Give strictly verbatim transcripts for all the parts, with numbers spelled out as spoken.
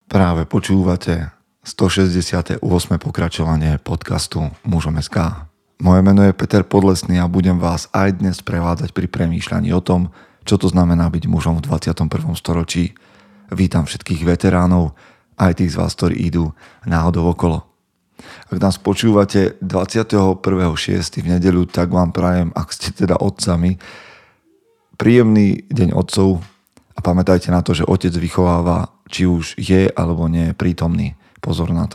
Práve počúvate stošesťdesiate ôsme pokračovanie podcastu Mužom bodka es ká. Moje meno je Peter Podlesný a budem vás aj dnes prevádzať pri premýšľaní o tom, čo to znamená byť mužom v dvadsiatom prvom storočí. Vítam všetkých veteránov, aj tých z vás, ktorí idú náhodou okolo. Ak nás počúvate dvadsiateho prvého šiesteho v nedeľu, tak vám prajem, ak ste teda otcami, príjemný deň otcov a pamätajte na to, že otec vychováva, či už je alebo nie prítomný. Pozor na to.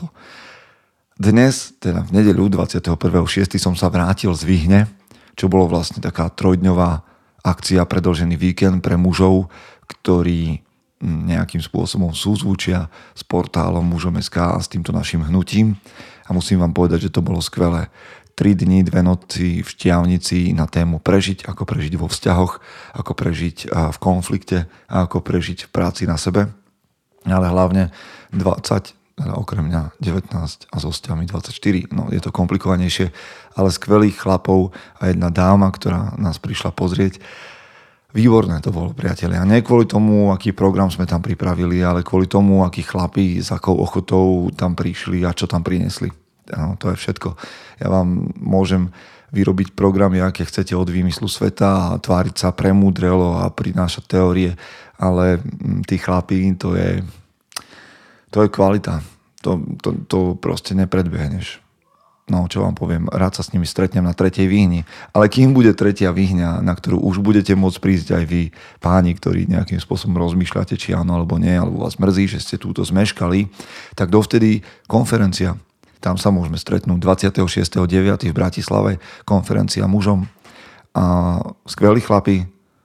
Dnes, teda v nedeľu dvadsiateho prvého šiesteho som sa vrátil z Vyhne, čo bolo vlastne taká trojdňová akcia, predĺžený víkend pre mužov, ktorí nejakým spôsobom súzvučia s portálom Mužom bodka es ká a s týmto našim hnutím. A musím vám povedať, že to bolo skvelé. Tri dni, dve noci v Štiavnici na tému prežiť, ako prežiť vo vzťahoch, ako prežiť v konflikte a ako prežiť v práci na sebe. Ale hlavne dvadsať, okrem mňa devätnásť a so vzťahmi dvadsaťštyri. No je to komplikovanejšie, ale skvelých chlapov a jedna dáma, ktorá nás prišla pozrieť. Výborné to bolo, priatelia. Nie kvôli tomu, aký program sme tam pripravili, ale kvôli tomu, akí chlapi s akou ochotou tam prišli a čo tam priniesli. No, to je všetko. Ja vám môžem vyrobiť programy, aké chcete od výmyslu sveta a tváriť sa premúdrelo a prinášať teórie, ale tí chlapi, to je, to je kvalita. To, to, to proste nepredbehneš. No, čo vám poviem, rád sa s nimi stretnem na tretej výhni. Ale kým bude tretia výhňa, na ktorú už budete môcť prísť aj vy, páni, ktorí nejakým spôsobom rozmýšľate, či áno alebo nie, alebo vás mrzí, že ste túto zmeškali, tak dovtedy konferencia. Tam sa môžeme stretnúť dvadsiateho šiesteho deviateho v Bratislave, konferencia mužom. A skvelí chlapi,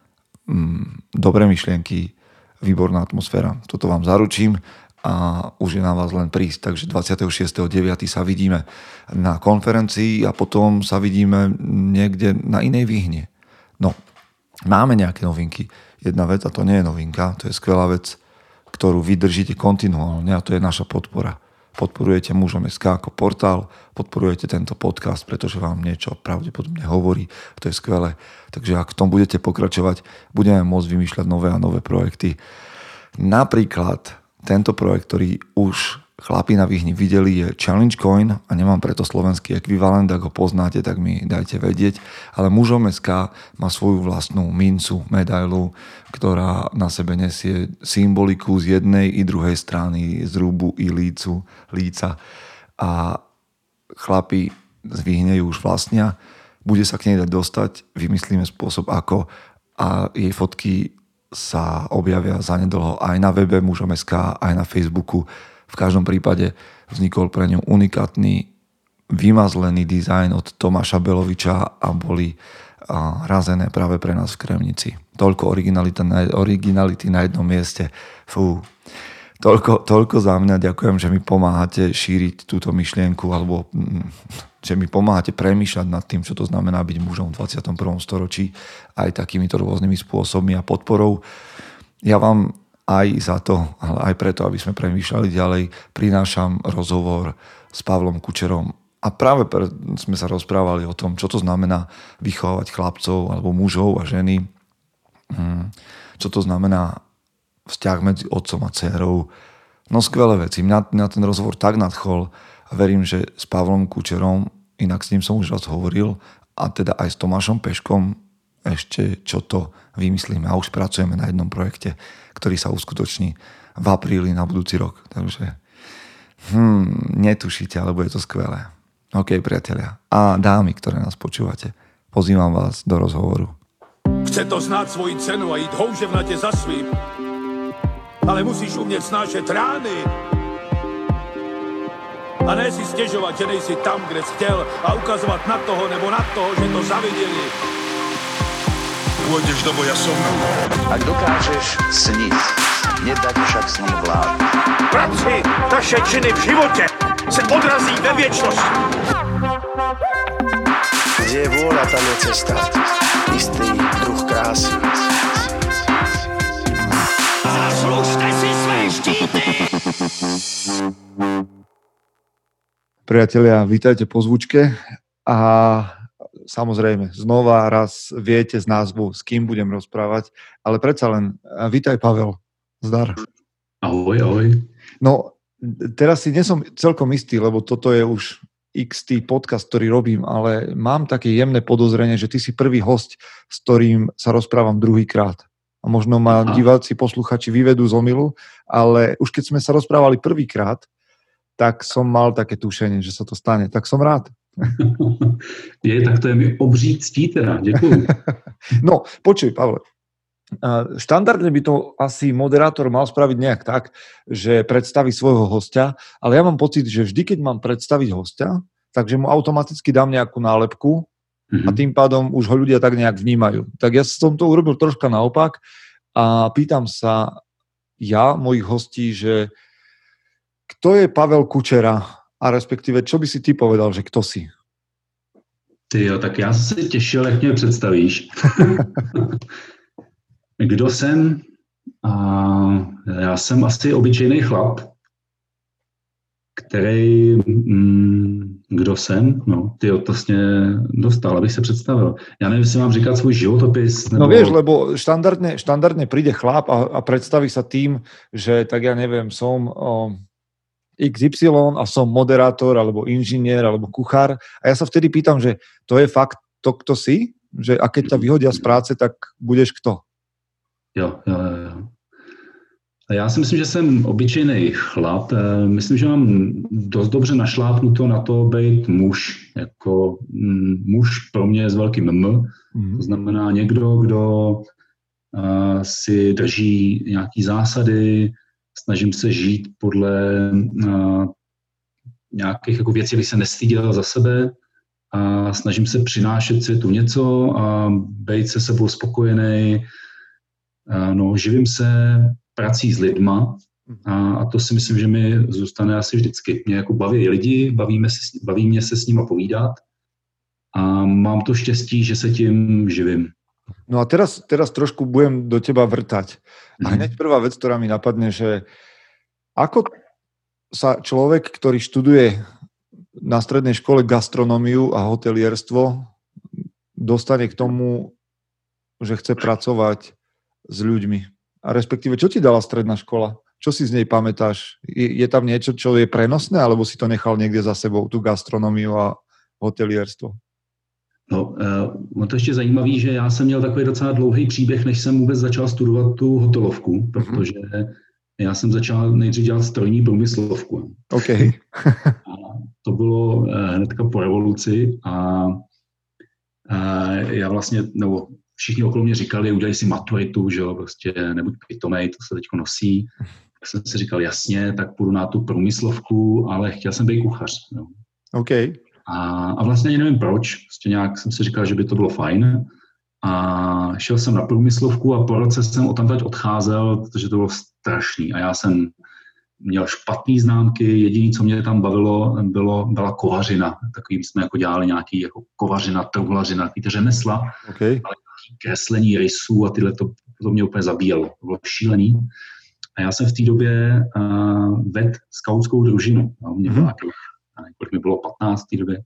dobré myšlienky, výborná atmosféra. Toto vám zaručím a už je na vás len prísť. Takže dvadsiateho šiesteho deviateho sa vidíme na konferencii a potom sa vidíme niekde na inej výhne. No, máme nejaké novinky. Jedna vec, a to nie je novinka, to je skvelá vec, ktorú vydržíte kontinuálne a to je naša podpora. Podporujete Mužom bodka es ká ako portál, podporujete tento podcast, pretože vám niečo pravdepodobne hovorí, to je skvelé. Takže ak v tom budete pokračovať, budeme môcť vymýšľať nové a nové projekty. Napríklad tento projekt, ktorý už chlapi na Vyhni videli, je Challenge Coin a nemám preto slovenský ekvivalent, ak ho poznáte, tak mi dajte vedieť, ale Mužom bodka es ká má svoju vlastnú mincu, medailu, ktorá na sebe nesie symboliku z jednej i druhej strany zrubu i lícu, líca a chlapi z Vyhne ju už vlastnia, bude sa k nej dať dostať, vymyslíme spôsob ako a jej fotky sa objavia zanedlho aj na webe Mužom bodka es ká, aj na Facebooku. V každom prípade vznikol pre ňu unikátny, vymazlený dizajn od Tomáša Beloviča a boli a, razené práve pre nás v Kremnici. Toľko originality na, originality na jednom mieste. Fú. Toľko, toľko za mňa. Ďakujem, že mi pomáhate šíriť túto myšlienku alebo že mi pomáhate premýšľať nad tým, čo to znamená byť mužom v dvadsiatom prvom storočí aj takýmito rôznymi spôsobmi a podporou. Ja vám aj za to, ale aj preto, aby sme premýšľali ďalej, prinášam rozhovor s Pavlom Kučerom. A práve pre, sme sa rozprávali o tom, čo to znamená vychovávať chlapcov alebo mužov a ženy. Čo to znamená vzťah medzi otcom a dcérou. No skvelé veci. Mňa, mňa ten rozhovor tak nadchol a verím, že s Pavlom Kučerom, inak s ním som už raz hovoril, a teda aj s Tomášom Peškom ešte čo to vymyslíme a už pracujeme na jednom projekte, ktorý sa uskutoční v apríli na budúci rok. Takže hmm, netušíte, alebo je to skvelé. OK, priatelia. A dámy, ktoré nás počúvate, pozývam vás do rozhovoru. Chce to znát svoji cenu a jít houževnatě za svým, ale musíš umět snášet rány a ne si stěžovat, že nejsi tam, kde jsi chtěl a ukazovat na toho nebo na toho, že to zaviděli. Pôjdeš do boja som. Ak dokážeš sniť, nedať však sním vlád. Práci, taše činy v životě se odrazí ve věčnosti. Kde je vôľa, tam je cesta. Istý druh krásy. Zaslužte si své štíty! Priatelia, vítajte po zvučke a samozrejme, znova raz viete z názvu, s kým budem rozprávať, ale predsa len, vítaj Pavel, zdar. Ahoj, ahoj. No, teraz si nesom celkom istý, lebo toto je už iks té podcast, ktorý robím, ale mám také jemné podozrenie, že ty si prvý hosť, s ktorým sa rozprávam druhýkrát. A možno ma Aha. diváci, posluchači vyvedú z omylu, ale už keď sme sa rozprávali prvýkrát, tak som mal také tušenie, že sa to stane. Tak som rád. Je, tak to je mi obří ctí teda, děkuju. No, počuj, Pavle. Štandardne by to asi moderátor mal spraviť nejak tak, že predstaví svojho hostia, ale ja mám pocit, že vždy, keď mám predstaviť hostia, takže mu automaticky dám nejakú nálepku a tým pádom už ho ľudia tak nejak vnímajú. Tak ja som to urobil troška naopak a pýtam sa ja, mojich hostí, že kto je Pavel Kučera a respektíve, čo by si ty povedal, že kto si? Ty jo, tak já se těšil, jak mě představíš. Kdo jsem? A já jsem asi obyčejný chlap, který... Mm, kdo jsem? No, ty to vlastně dostal, abych se představil. Já nevím, jestli mám říkat svůj životopis. Nebo... No vieš, lebo štandardne, štandardne príde chlap a, a predstaví sa tým, že tak ja neviem, som o, iks ypsilon a som moderátor, alebo inžinier, alebo kuchár. A ja sa vtedy pýtam, že to je fakt to, kto si? Že a keď ťa vyhodia z práce, tak budeš kto? Jo, jo, jo. Já si myslím, že jsem obyčejný chlap. Myslím, že mám dost dobře našlápnuto na to být muž. Jako muž pro mě je s velkým M. Mm. To znamená někdo, kdo uh, si drží nějaký zásady, snažím se žít podle uh, nějakých jako věcí, abych se nestyděl za sebe a snažím se přinášet světu něco a být se sebou spokojený. Uh, no, živím se prací s lidma a, a to si myslím, že mi zůstane asi vždycky. Mě jako baví lidi, bavíme se, baví mě se s nimi povídat a mám to štěstí, že se tím živím. No a teraz, teraz trošku budem do teba vrtať. A hneď prvá vec, ktorá mi napadne, že ako sa človek, ktorý študuje na strednej škole gastronómiu a hotelierstvo, dostane k tomu, že chce pracovať s ľuďmi. A respektíve, čo ti dala stredná škola? Čo si z nej pamätáš? Je, je tam niečo, čo je prenosné, alebo si to nechal niekde za sebou, tú gastronómiu a hotelierstvo? No, uh, to ještě zajímavý, že já jsem měl takový docela dlouhý příběh, než jsem vůbec začal studovat tu hotelovku, protože já jsem začal nejdřív dělat strojní průmyslovku. OK. A to bylo uh, hnedka po revoluci a uh, já vlastně, nebo všichni okolo mě říkali, udělej si maturitu, že jo, prostě nebuď pitomej, to se teďko nosí. Tak jsem si říkal, jasně, tak půjdu na tu průmyslovku, ale chtěl jsem být kuchař. Jo. OK. A, a vlastně ani nevím proč, prostě nějak jsem si říkal, že by to bylo fajn. A šel jsem na průmyslovku a po roce jsem odtamtud odcházel, protože to bylo strašný. A já jsem měl špatný známky, jediné, co mě tam bavilo, bylo, byla kovařina. Takový jsme jako dělali nějaký jako kovařina, truhlařina, takový řemesla. Okay. Ale kreslení rysů a tyhle, to, to mě úplně zabíjelo. To bylo šílený. A já jsem v té době uh, vedl skautskou družinu. No, mě bylo nějakých, kolik mi bylo patnáct v té době.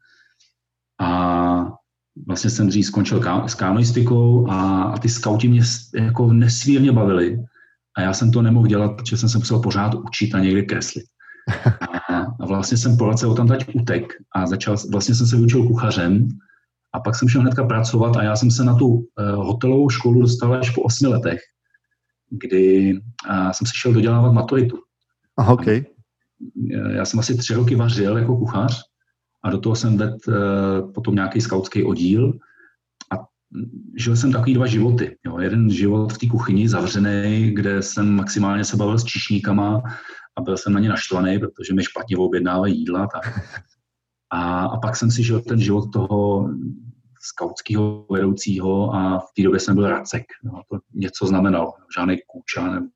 A vlastně jsem dřív skončil ká, s kanoistikou a, a ty skauti mě jako nesmírně bavili. A já jsem to nemohl dělat, protože jsem se musel pořád učit a někde kreslit. A, a vlastně jsem po roce odtamtud utek a začal, vlastně jsem se vyučil kuchařem. A pak jsem šel hnedka pracovat a já jsem se na tu uh, hotelovou školu dostal až po osmi letech, kdy uh, jsem si šel dodělávat maturitu. Aha, okay. Já jsem asi tři roky vařil jako kuchař a do toho jsem vedl uh, potom nějaký skautský oddíl a žil jsem takový dva životy. Jo. Jeden život v té kuchyni zavřený, kde jsem maximálně se bavil s číšníkama a byl jsem na ně naštvaný, protože mi špatně objednávají jídla. Tak. A, a pak jsem si žil ten život toho skautského vedoucího a v té době jsem byl racek. No, to něco znamenalo, žádnej kůča. Nebo...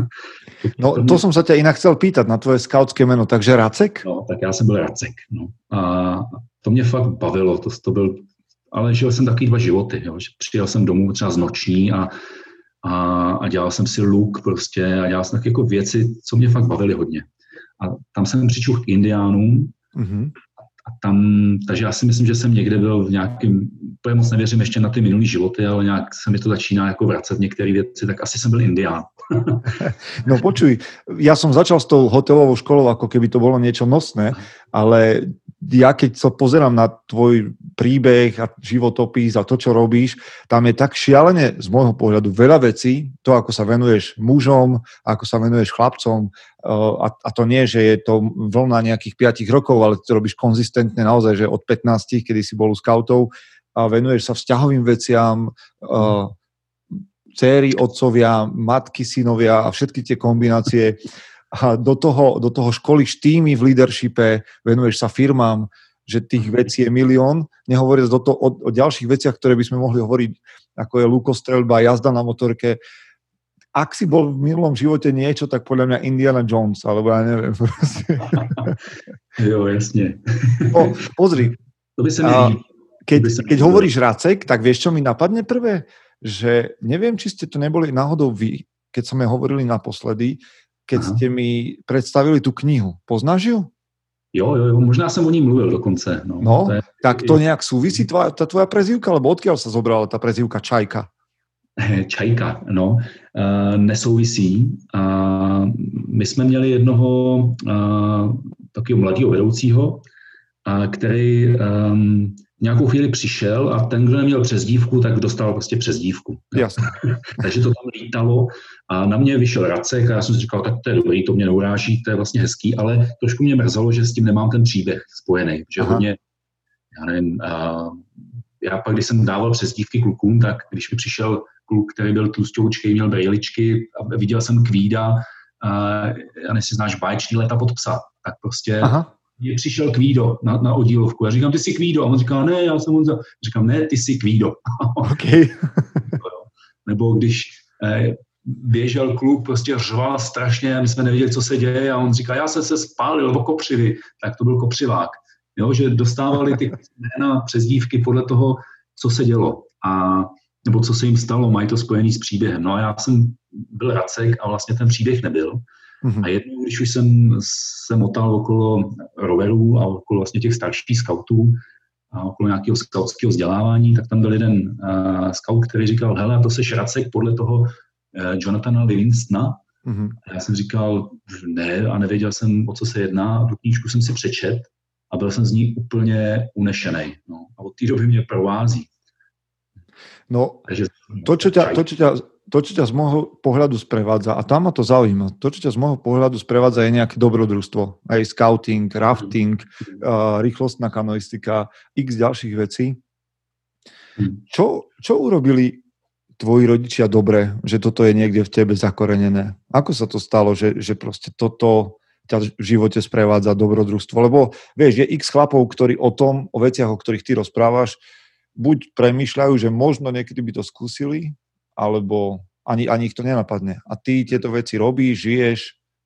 No to, to jsem se tě jinak chcel pýtat na tvoje skautské jméno, takže racek? No, tak já jsem byl racek. No. A to mě fakt bavilo, to, to byl, ale žil jsem takový dva životy. Jo. Přijel jsem domů třeba z noční a, a, a dělal jsem si luk prostě a dělal jsem tak jako věci, co mě fakt bavily hodně. A tam jsem přišel k indiánům. Mm-hmm. A tam, takže já si myslím, že jsem někde byl v nějakým, úplně moc nevěřím ještě na ty minulý životy, ale nějak se mi to začíná jako vracet některé věci, tak asi jsem byl indián. No počuj, ja som začal s tou hotelovou školou, ako keby to bolo niečo nosné, ale ja keď sa pozerám na tvoj príbeh a životopis a to, čo robíš, tam je tak šialene z môjho pohľadu veľa vecí, to, ako sa venuješ mužom, ako sa venuješ chlapcom, a, a to nie, že je to vlna nejakých piatich rokov, ale to robíš konzistentne naozaj, že od pätnástich, kedy si bol u skautov, a venuješ sa vzťahovým veciam, uh, céry, otcovia, matky, synovia a všetky tie kombinácie. A do toho, do toho školíš týmy v leadershipe, venuješ sa firmám, že tých vecí je milión. Nehovoriac do toho, o, o ďalších veciach, ktoré by sme mohli hovoriť, ako je lukostreľba, jazda na motorke. Ak si bol v minulom živote niečo, tak podľa mňa Indiana Jones, alebo ja neviem. Jo, jasne. O, pozri. To by sa mi... Keď, keď hovoríš Racek, tak vieš, čo mi napadne prvé? Že neviem, či ste to neboli náhodou vy, keď sme hovorili naposledy, keď Aha. ste mi predstavili tú knihu. Poznáš ju? Jo, jo, jo, možná som o ní mluvil dokonce. No, no to je... tak to nejak súvisí tvoja, tá tvoja prezývka, alebo odkiaľ sa zobrala tá prezývka Čajka? Čajka, no, uh, nesouvisí. Uh, my jsme měli jednoho uh, takového mladého vedoucího, uh, který um, nějakou chvíli přišel a ten, kdo neměl přezdívku, tak dostal prostě přezdívku. Jasně. Takže to tam lítalo a na mě vyšel Racek a já jsem si říkal, tak to je dobrý, to mě neuráží, to je vlastně hezký, ale trošku mě mrzelo, že s tím nemám ten příběh spojený, že Aha. hodně, já nevím, uh, já pak, když jsem dával přezdívky klukům, tak když mi přišel kluk, který byl tlusťoučkej, měl brejličky a viděl jsem Kvída, uh, já nevím, si znáš báječný Léta pod psa, tak prostě Aha. mě přišel Kvído na, na oddílovku. Já říkám, ty jsi Kvído. A on říká, ne, já jsem Honza. Říkám, ne, ty jsi Kvído. Okay. Nebo když eh, běžel kluk, prostě řval strašně a my jsme nevěděli, co se děje a on říká, já jsem se spálil, nebo kopřivy. Tak to byl kopřivák. Jo, že dostávali ty jména přezdívky podle toho, co se dělo. A, nebo co se jim stalo, mají to spojený s příběhem. No a já jsem byl Racek a vlastně ten příběh nebyl. Mm-hmm. A jednou, když už jsem se motal okolo roverů a okolo vlastně těch starších skautů a okolo nějakého skautského vzdělávání, tak tam byl jeden uh, skaut, který říkal, hele, to seš Racek podle toho uh, Jonathana Livingstona. Mm-hmm. A já jsem říkal, ne, a nevěděl jsem, o co se jedná. A tu knížku jsem si přečet a byl jsem z ní úplně unešenej. No. A od té doby mě provází. No, Takže, to, čo ťa, to, čo ťa To, čo ťa z môjho pohľadu sprevádza, a tam ma to zaujíma, to, čo ťa z môjho pohľadu sprevádza, je nejaké dobrodružstvo. Aj scouting, rafting, uh, rýchlostná kanoistika, x ďalších vecí. Čo, čo urobili tvoji rodičia dobre, že toto je niekde v tebe zakorenené? Ako sa to stalo, že, že proste toto ťa v živote sprevádza dobrodružstvo? Lebo vieš, je x chlapov, ktorí o tom, o veciach, o ktorých ty rozprávaš, buď premýšľajú, že možno niekedy by to skúsili, alebo ani, ani ich to nenapadne. A ty tieto veci robíš, žiješ.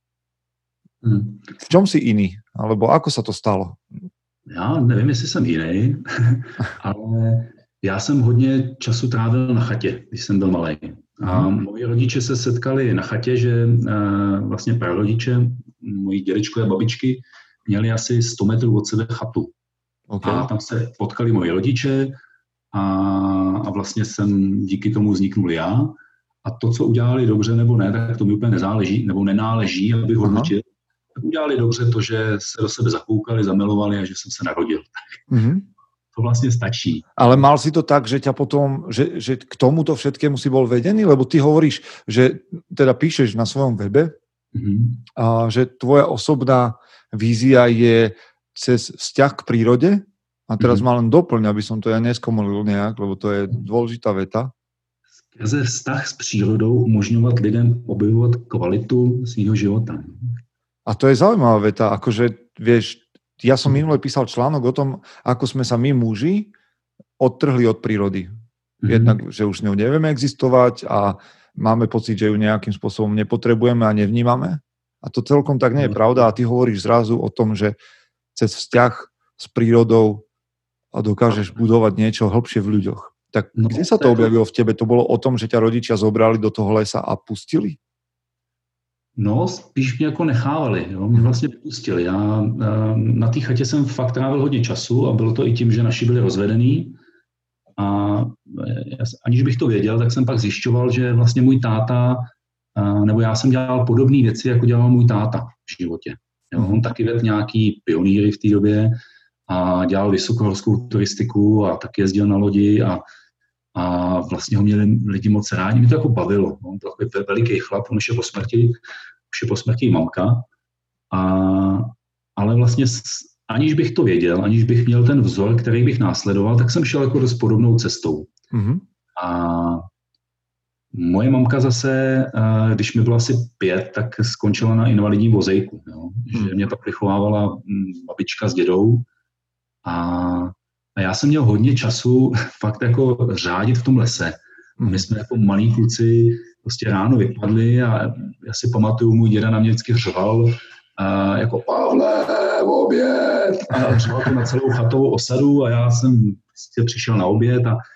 Hmm. V čom si iný? Alebo ako sa to stalo? Já nevím, jestli jsem jiný, ale já jsem hodně času trávil na chatě, když jsem byl malý. A moji rodiče se setkali na chatě, že uh, vlastně prarodiče, moji dědečkové a babičky, měli asi sto metrů od sebe chatu. Okay. A tam se potkali moji rodiče, A, a vlastně jsem díky tomu vzniknul já. A to, co udělali dobře nebo ne, tak to mi úplně nezáleží, nebo nenáleží, abych hodnotil. Tak udělali dobře to, že se do sebe zakoukali, zamilovali a že jsem se narodil. Mm-hmm. To vlastně stačí. Ale mal si to tak, že ťa potom, že, že k tomuto všetkému si bol vedený? Lebo ty hovoríš, že teda píšeš na svojom webe, mm-hmm. a že tvoja osobná vízia je cez vzťah k prírode. A teraz mm-hmm. ma len doplň, aby som to ja neskomolil nejak, lebo to je dôležitá veta. Skrze vztah s přírodou umožňovat lidem objevovat kvalitu svýho života. A to je zaujímavá veta, akože, vieš, ja som minule písal článok o tom, ako sme sa my muži odtrhli od prírody. Mm-hmm. Jednak, že už s ňou nevieme existovať a máme pocit, že ju nejakým spôsobom nepotrebujeme a nevnímame. A to celkom tak nie je pravda. A ty hovoríš zrazu o tom, že cez vzťah s prírodou a dokážeš budovať niečo hlbšie v ľuďoch. Tak no, kde sa to objavilo v tebe? To bolo o tom, že ťa rodičia zobrali do toho lesa a pustili? No, spíš mě jako nechávali. Jo? Mě vlastně pustili. Já na té chatě jsem fakt trávil hodně času a bylo to i tím, že naši byli rozvedení. A aniž bych to věděl, tak jsem pak zjišťoval, že vlastně můj táta uh, nebo já jsem dělal podobné věci, jako dělal můj táta v životě. Jo, on taky vedl nějaký pionýry v té době a dělal vysokohorskou turistiku a taky jezdil na lodi a, a vlastně ho měli lidi moc rádi. Mě to jako bavilo. On byl takový veliký chlap, on už je po smrti, už je po smrti mamka. A, ale vlastně aniž bych to věděl, aniž bych měl ten vzor, který bych následoval, tak jsem šel jako dost podobnou cestou. Mm-hmm. A moje mamka zase, když mi bylo asi pět, tak skončila na invalidním vozejku. Jo? Mm. Že mě tak vychovávala babička s dědou. A, a já jsem měl hodně času fakt jako řádit v tom lese. Mm. My jsme jako malí kluci prostě ráno vypadli a já si pamatuju, můj děda na mě vždycky řval, a jako Pavle, oběd! A řval to na celou chatovou osadu a já jsem prostě přišel na oběd a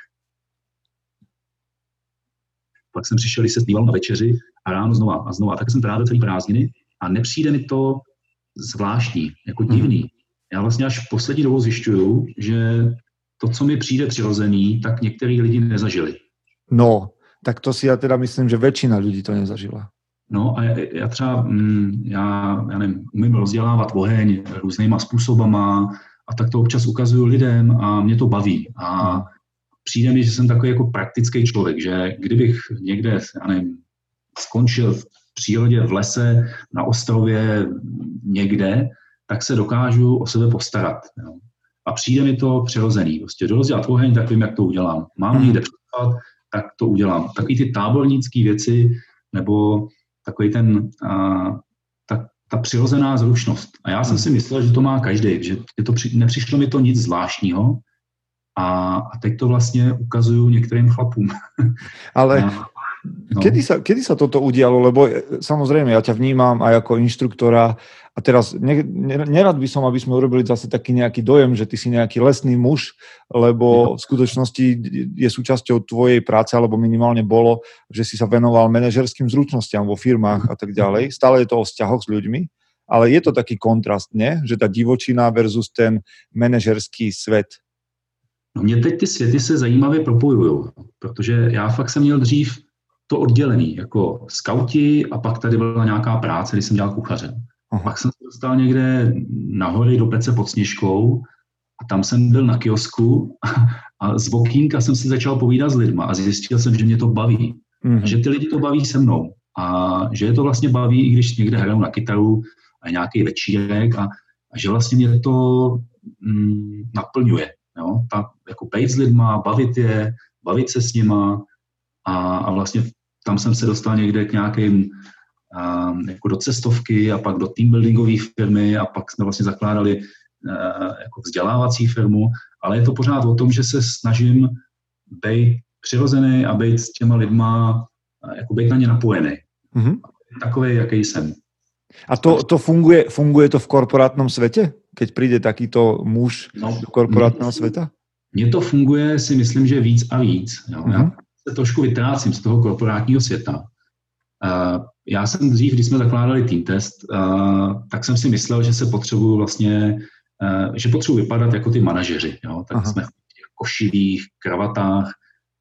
pak jsem přišel, když se sníval na večeři a ráno znova a znova. Tak jsem trávil celý prázdniny a nepřijde mi to zvláštní, jako divný. Já vlastně až poslední dobou zjišťuju, že to, co mi přijde přirozený, tak některý lidi nezažili. No, tak to si já teda myslím, že většina lidí to nezažila. No a já, já třeba, mm, já, já nevím, umím rozdělávat oheň různýma způsobama a tak to občas ukazuju lidem a mě to baví. A hmm. přijde mi, že jsem takový jako praktický člověk, že kdybych někde, já nevím, skončil v přírodě, v lese, na ostrově, někde, tak se dokážu o sebe postarat. Jo. A přijde mi to přirozený. Prostě rozdělat oheň, tak vím, jak to udělám. Mám hmm. někde představat, tak to udělám. Takový ty tábornické věci, nebo takový ten, a, ta, ta přirozená zručnost. A já jsem si myslel, že to má každý, že to při, nepřišlo mi to nic zvláštního a, a teď to vlastně ukazuju některým chlapům. Ale a, no. kedy, sa, kedy sa toto udialo? Lebo samozrejme, ja ťa vnímam aj ako inštruktora a teraz ne, nerad by som, aby sme urobili zase taký nejaký dojem, že ty si nejaký lesný muž, lebo v skutočnosti je súčasťou tvojej práce, alebo minimálne bolo, že si sa venoval manažerským zručnostiam vo firmách a tak ďalej. Stále je to o vzťahoch s ľuďmi, ale je to taký kontrast, ne? Že tá divočina versus ten manažerský svet. No mě teď ty světy se zajímavě propojují, protože já fakt jsem měl dřív to oddělený, jako skauti a pak tady byla nějaká práce, když jsem dělal kuchaře. Aha. Pak jsem se dostal někde nahoře do Pece pod Sněžkou a tam jsem byl na kiosku a, a z okýnka jsem si začal povídat s lidma a zjistil jsem, že mě to baví. Mm. A že ty lidi to baví se mnou a že je to vlastně baví, i když někde hraju na kytaru a nějaký večírek a, a že vlastně mě to mm, naplňuje. Jo? Ta, jako bejt s lidma, bavit je, bavit se s nima a, a vlastně tam jsem se dostal někde k nějakým um, jako do cestovky a pak do teambuildingové firmy a pak jsme vlastně zakládali uh, jako vzdělávací firmu, ale je to pořád o tom, že se snažím být přirozený a být s těma lidma, uh, jako být na ně napojený. Mm-hmm. Takový, jaký jsem. A to, to funguje, funguje to v korporátnom svete? Keď príde takýto muž no, do korporátneho sveta? Mně to funguje, si myslím, že víc a víc. Jo. Mm-hmm. Já se trošku vytrácím z toho korporátního světa. Uh, já jsem dřív, když jsme zakládali Team Test, uh, tak jsem si myslel, že se potřebuju vlastně, uh, že potřebuji vypadat jako ty manažeři. Jo. Tak Aha. jsme v těch košilích, kravatách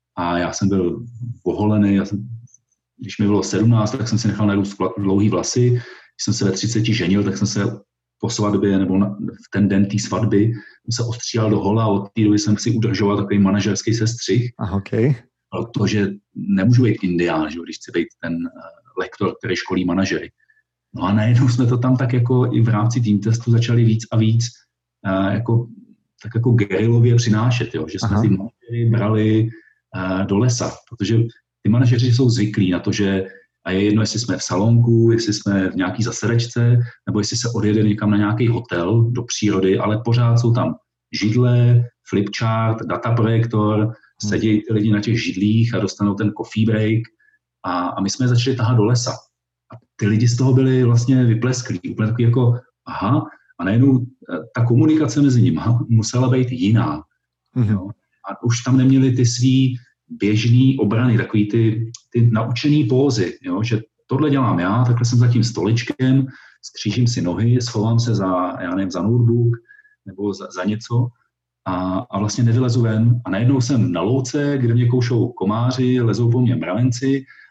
a já jsem byl oholený. Já jsem, když mi bylo sedmnáct, tak jsem si nechal narůst dlouhý vlasy. Když jsem se ve třiceti ženil, tak jsem se po svatbě nebo na, v ten den té svatby jsem se ostříhal do hola a od té doby jsem si udržoval takový manažerský sestřih. Okay. Protože nemůžu být indián, že, když chci být ten uh, lektor, který školí manažery. No a najednou jsme to tam tak jako i v rámci Team Testu začali víc a víc uh, jako, tak jako gerilově přinášet, jo, že jsme Aha. ty manažery brali uh, do lesa, protože ty manažeři jsou zvyklí na to, že a je jedno, jestli jsme v salonku, jestli jsme v nějaký zasedačce, nebo jestli se odjede někam na nějaký hotel do přírody, ale pořád jsou tam židle, flipchart, dataprojektor, sedí ty lidi na těch židlích a dostanou ten coffee break a, a my jsme je začali tahat do lesa. A ty lidi z toho byli vlastně vyplesklí, úplně takový jako aha, a najednou ta komunikace mezi nimi musela být jiná. Mm-hmm. Jo? A už tam neměli ty svý běžný obrany, takový ty, ty naučený pózy, jo? Že tohle dělám já, takhle jsem za tím stoličkem, skřížím si nohy, schovám se za, já nevím, za notebook nebo za, za něco a, a vlastně nevylezu ven. A najednou jsem na louce, kde mě koušou komáři, lezou po mně mravenci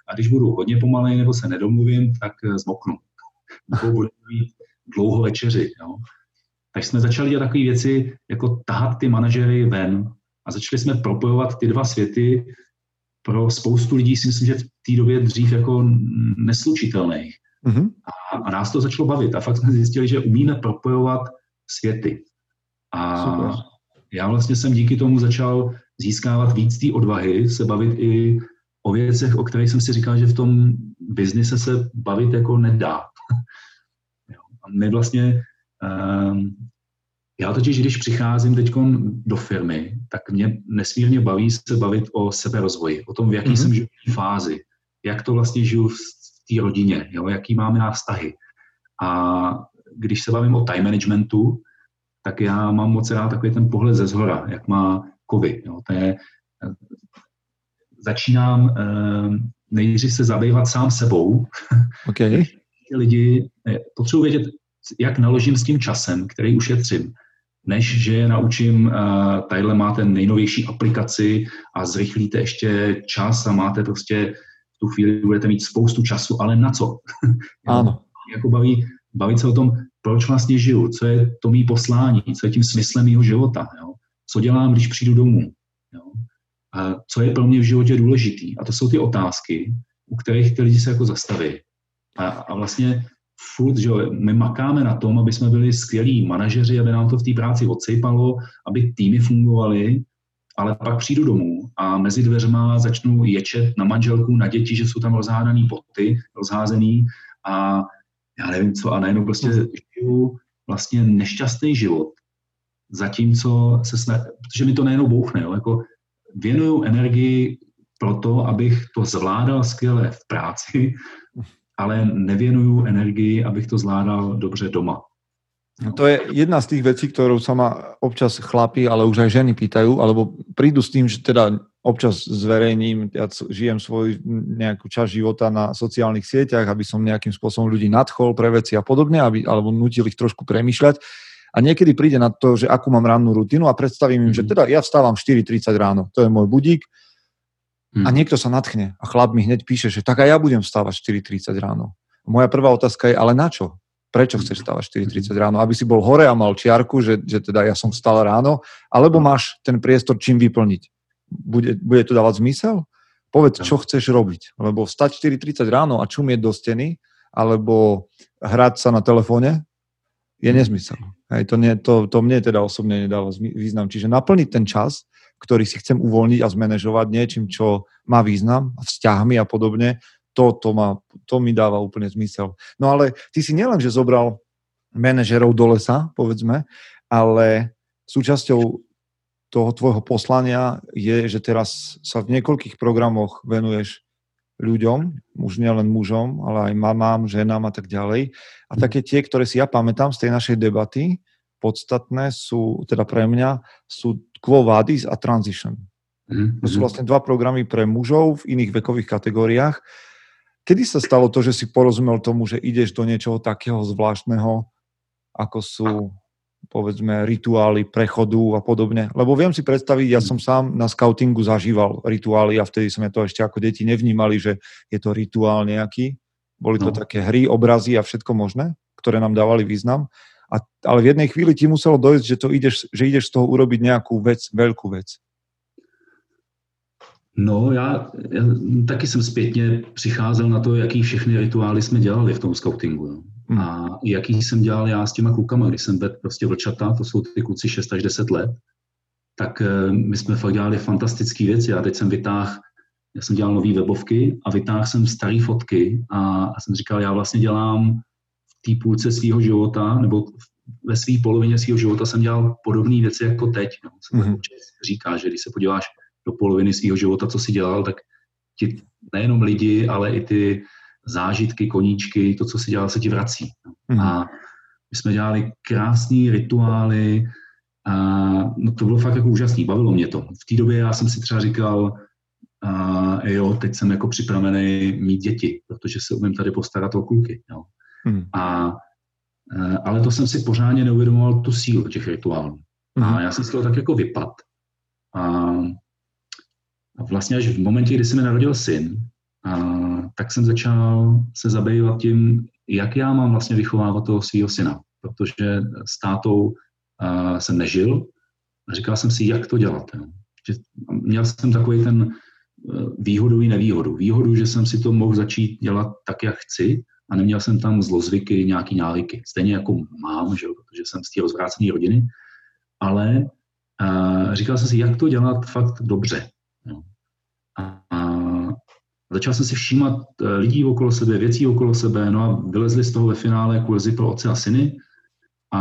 a když budu hodně pomalej nebo se nedomluvím, tak zmoknu. Nebo budu mít dlouho večeři. Jo. Tak jsme začali dělat takové věci, jako tahat ty manažery ven a začali jsme propojovat ty dva světy pro spoustu lidí, si myslím, že v té době dřív jako neslučitelných. Mm-hmm. A, a nás to začalo bavit a fakt jsme zjistili, že umíme propojovat světy. A super. Já vlastně jsem díky tomu začal získávat víc té odvahy, se bavit i o věcech, o kterých jsem si říkal, že v tom biznise se bavit jako nedá. A my vlastně, um, já totiž, když přicházím teď do firmy, tak mě nesmírně baví se bavit o seberozvoji, o tom, v jaký mm-hmm. jsem životní fázi, jak to vlastně žiju v té rodině, jo, jaký máme já vztahy. A když se bavím o time managementu, tak já mám moc rád takový ten pohled ze zhora, jak má kovy. Jo. To je, začínám eh, nejdřív se zabývat sám sebou. Okay. Lidi potřebuji vědět, jak naložím s tím časem, který ušetřím, než že je naučím, uh, tadyhle máte nejnovější aplikaci a zrychlíte ještě čas a máte prostě v tu chvíli budete mít spoustu času, ale na co? Ano. Jako baví, bavit se o tom, proč vlastně žiju, co je to mý poslání, co je tím smyslem mýho života, jo? Co dělám, když přijdu domů, jo? A co je pro mě v životě důležitý. A to jsou ty otázky, u kterých ty lidi se jako zastaví. A, a vlastně furt, že my makáme na tom, aby jsme byli skvělí manažeři, aby nám to v té práci odsejpalo, aby týmy fungovaly, ale pak přijdu domů a mezi dveřma začnu ječet na manželku, na děti, že jsou tam rozhádaný boty, rozházený a já nevím co, a najednou prostě žiju vlastně nešťastný život, zatímco se snažím, protože mi to najednou bouchne, jo, jako věnuju energii pro to, abych to zvládal skvěle v práci, ale nevěnuju energii, abych to zvládal dobře doma. No to je jedna z tých vecí, ktorú sa ma občas chlapi, ale už aj ženy pýtajú, alebo prídu s tým, že teda občas zverejním, ja žijem svoj nejakú časť života na sociálnych sieťach, aby som nejakým spôsobom ľudí nadchol pre veci a podobne, aby, alebo nutil ich trošku premýšľať. A niekedy príde na to, že akú mám rannú rutinu a predstavím im, mm. že teda ja vstávam štyri tridsať ráno, to je môj budík, a niekto sa nadchne a chlap mi hneď píše, že tak aj ja budem vstávať štyri tridsať ráno. Moja prvá otázka je, ale na čo? Prečo chceš vstávať štyri tridsať ráno? Aby si bol hore a mal čiarku, že, že teda ja som vstal ráno, alebo máš ten priestor čím vyplniť? Bude, bude to dávať zmysel? Povedz, čo chceš robiť. Lebo vstať štyri tridsať ráno a čumieť do steny, alebo hrať sa na telefóne, je nezmysel. Hej, to, nie, to, to mne teda osobne nedáva význam. Čiže naplniť ten čas, ktorý si chcem uvoľniť a zmanéžovať niečím, čo má význam, vzťahmi a podobne, to, to, má, to mi dáva úplne zmysel. No ale ty si nielen, že zobral manažerov do lesa, povedzme, ale súčasťou toho tvojho poslania je, že teraz sa v niekoľkých programoch venuješ ľuďom, už nielen mužom, ale aj mamám, ženám a tak ďalej. A také tie, ktoré si ja pamätám z tej našej debaty, podstatné sú, teda pre mňa, sú Quo Vadis a Transition. Mm-hmm. To sú vlastne dva programy pre mužov v iných vekových kategóriách. Kedy sa stalo to, že si porozumel tomu, že ideš do niečoho takého zvláštneho, ako sú, povedzme, rituály prechodu a podobne? Lebo viem si predstaviť, ja som sám na skautingu zažíval rituály a vtedy sme to ešte ako deti nevnímali, že je to rituál nejaký. Boli to no. také hry, obrazy a všetko možné, ktoré nám dávali význam. A, ale v jednej chvíli ti muselo dojsť, že, to ideš, že ideš z toho urobiť nejakú vec, veľkú vec. No, já, já taky jsem zpětně přicházel na to, jaký všechny rituály jsme dělali v tom skautingu. Hmm. A jaký jsem dělal já s těma klukama, když jsem vedl prostě vlčata, to jsou ty kluci šest až deset let, tak my jsme fakt dělali fantastické věci. Já teď jsem vytáhl, já jsem dělal nový webovky a vytáhl jsem staré fotky a, a jsem říkal, já vlastně dělám té půlce svého života, nebo ve své polovině svého života jsem dělal podobné věci jako teď. No. Se mm-hmm. říká, že když se podíváš do poloviny svého života, co si dělal, tak ti nejenom lidi, ale i ty zážitky, koníčky, to, co si dělal, se ti vrací. No. Mm-hmm. A my jsme dělali krásné rituály a no, to bylo fakt jako úžasný, bavilo mě to. V té době já jsem si třeba říkal, a jo, teď jsem jako připravený mít děti, protože se umím tady postarat o kluky. Jo. Hmm. A, ale to jsem si pořádně neuvědomoval tu sílu těch rituálů. Hmm. A já jsem z toho tak jako vypad. A, a vlastně až v momentě, kdy se mi narodil syn, a tak jsem začal se zabývat tím, jak já mám vlastně vychovávat toho svého syna, protože s tátou uh, jsem nežil a říkal jsem si, jak to dělat. Jo. Měl jsem takový ten uh, výhodu i nevýhodu. Výhodu, že jsem si to mohl začít dělat tak, jak chci a neměl jsem tam zlozvyky, nějaký návyky. Stejně jako mám, že, protože jsem z té rozvrácené rodiny, ale uh, říkal jsem si, jak to dělat fakt dobře. Jo. A, a začal jsem si všímat lidí okolo sebe, věcí okolo sebe, no a vylezli z toho ve finále kurzy pro otce a syny a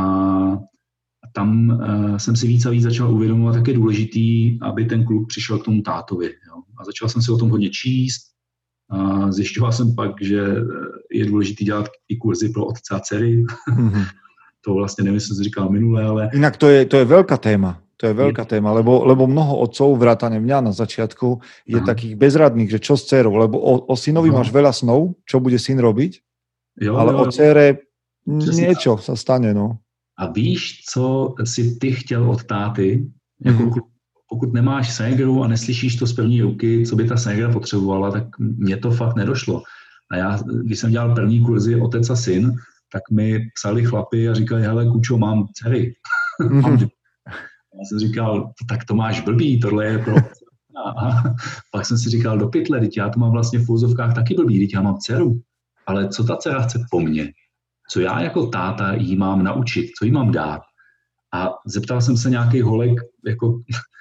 tam uh, jsem si víc a víc začal uvědomovat, jak je důležitý, aby ten kluk přišel k tomu tátovi. Jo. A začal jsem si o tom hodně číst a zjišťoval jsem pak, že je důležitý dělat i kurzy pro otce a dcery. Mm-hmm. To vlastně nevím, co jsem říkal minule, ale... Inak to je, to je veľká téma. To je veľká je... téma, lebo, lebo mnoho otcov, vrátane mňa na začiatku, je Aha. takých bezradných, že čo s dcerou, lebo o, o synovi no. máš veľa snov, čo bude syn robiť, jo, ale jo, o dcere niečo sa stane, no. A víš, co si ty chtěl od táty? Jako, mm. Pokud nemáš ségru a neslyšíš to z první ruky, co by ta ségra potřebovala, tak mně to fakt nedošlo. A já, když jsem dělal první kurzy otec a syn, tak mi psali chlapi a říkali, hele, kučo, mám dcery. Mm. Já jsem říkal, tak to máš blbý, tohle je pro... A pak jsem si říkal, do pytle, teď já to mám vlastně v úzovkách taky blbý, teď já mám dceru. Ale co ta dcera chce po mně? Co já jako táta jí mám naučit? Co jí mám dát? A zeptal jsem se nějakých holek, jako,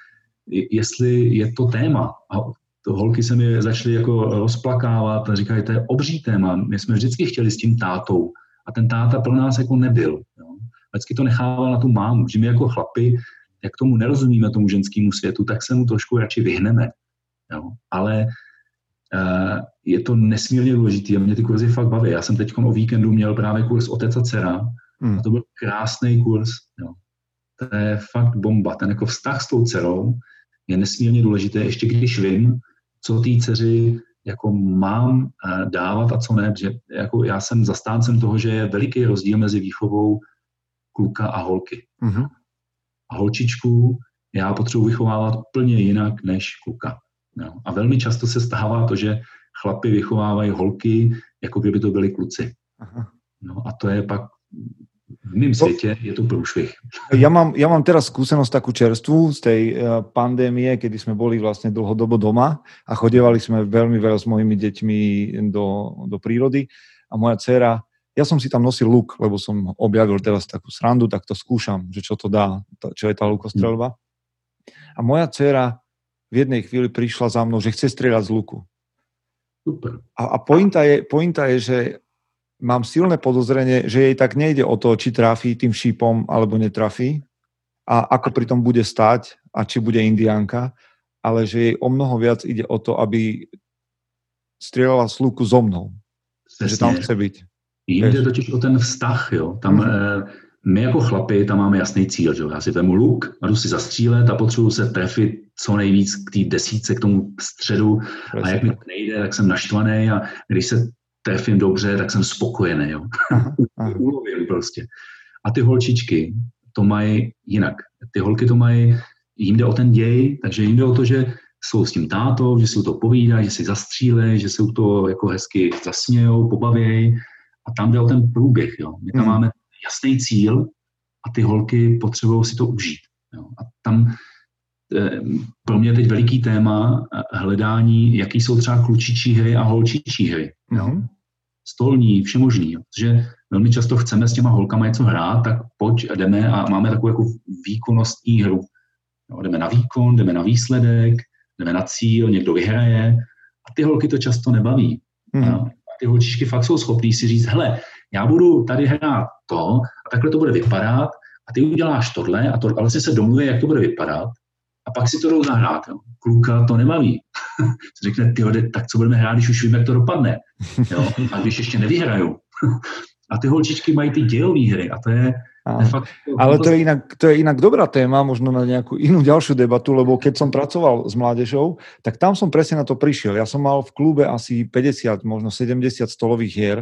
jestli je to téma. A to holky se mi začaly jako rozplakávat a říkají, to je obří téma. My jsme vždycky chtěli s tím tátou. A ten táta pro nás jako nebyl. Jo. Vždycky to nechával na tu mámu, že my jako chlapi, jak tomu nerozumíme, tomu ženskému světu, tak se mu trošku radši vyhneme. Jo. Ale uh, je to nesmírně důležité a mě ty kurzy fakt baví. Já jsem teď o víkendu měl právě kurz Otec a dcera hmm. a to byl krásný kurz. Jo. To je fakt bomba. Ten jako vztah s tou dcerou je nesmírně důležité, ještě když vím, co té dceři jako mám uh, dávat a co ne. Že jako já jsem zastáncem toho, že je veliký rozdíl mezi výchovou kluka a holky. Hmm. A holčičku já potřebuji vychovávat úplně jinak než kluka. No. A velmi často se stává to, že chlapi vychovávají holky, jako kdyby to byli kluci. Aha. No a to je pak v mém světě je to průšvih. Ja mám, ja mám teraz skúsenosť takú čerstvú z tej uh, pandémie, kedy sme boli vlastne dlhodobo doma a chodievali sme veľmi veľa s mojimi deťmi do, do prírody a moja dcéra, ja som si tam nosil luk, lebo som objavil teraz takú srandu, tak to skúšam, že čo to dá, čo je tá lukostreľba. A moja dcéra v jednej chvíli prišla za mnou, že chce strieľať z luku. Super. A, a pointa, je, pointa je, že mám silné podozrenie, že jej tak nejde o to, či trafí tým šípom, alebo netrafí a ako pri tom bude stáť a či bude indiánka, ale že jej o mnoho viac ide o to, aby strieľala z luku so mnou. Presne. Že tam chce byť. Jim jde totiž o ten vztah, jo. Tam, mm. eh, my jako chlapi tam máme jasný cíl, že jo. Já si vemu luk a jdu si zastřílet a potřebuji se trefit co nejvíc k té desítce, k tomu středu. Presne. A jak mi to nejde, tak jsem naštvaný a když se trefím dobře, tak jsem spokojený, jo. Ulovím prostě. A ty holčičky to mají jinak. Ty holky to mají, jim jde o ten děj, takže jim jde o to, že jsou s tím tátou, že si to povídají, že si zastřílejí, že se to jako hezky zasmějou, pobavějí. A tam jde o ten průběh. Jo. My tam hmm. máme jasný cíl a ty holky potřebují si to užít. Jo. A tam e, pro mě je teď veliký téma hledání, jaký jsou třeba klučičí hry a holčičí hry. Jo. Hmm. Stolní, všemožný. Jo. Protože velmi často chceme s těma holkama něco hrát, tak pojď a jdeme a máme takovou jako výkonnostní hru. Jo. Jdeme na výkon, jdeme na výsledek, jdeme na cíl, někdo vyhraje a ty holky to často nebaví. Hmm. Ty holčičky fakt jsou schopný si říct, hele, já budu tady hrát to a takhle to bude vypadat a ty uděláš tohle a to, ale vlastně se domluví, jak to bude vypadat a pak si to jdou zahrát. Jo. Kluka to nebaví. Řekne, tyjo, tak co budeme hrát, když už vím, jak to dopadne. Jo. A když ještě nevyhraju. A ty holčičky mají ty dějové hry a to je... Fakt, ale to je, inak, to je inak dobrá téma, možno na nejakú inú ďalšiu debatu, lebo keď som pracoval s mládežou, tak tam som presne na to prišiel. Ja som mal v klube asi päťdesiat, možno sedemdesiat stolových hier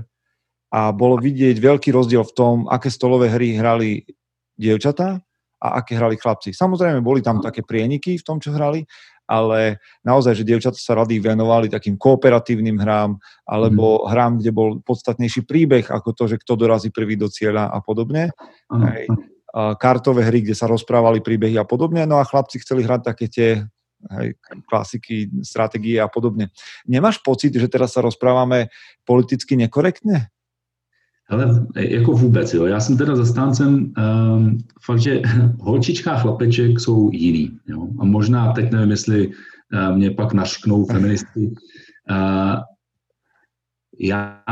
a bolo vidieť veľký rozdiel v tom, aké stolové hry hrali dievčatá a aké hrali chlapci. Samozrejme, boli tam také prieniky v tom, čo hrali, ale naozaj, že dievčatá sa rady venovali takým kooperatívnym hrám, alebo mm. hrám, kde bol podstatnejší príbeh, ako to, že kto dorazí prvý do cieľa a podobne. Mm. Hej. A kartové hry, kde sa rozprávali príbehy a podobne, no a chlapci chceli hrať také tie hej, klasiky, stratégie a podobne. Nemáš pocit, že teraz sa rozprávame politicky nekorektne? Ale jako vůbec, jo. Já jsem teda zastáncem um, fakt, že holčička a chlapeček jsou jiný. Jo. A možná teď nevím, jestli uh, mě pak našknou feministky. Uh, já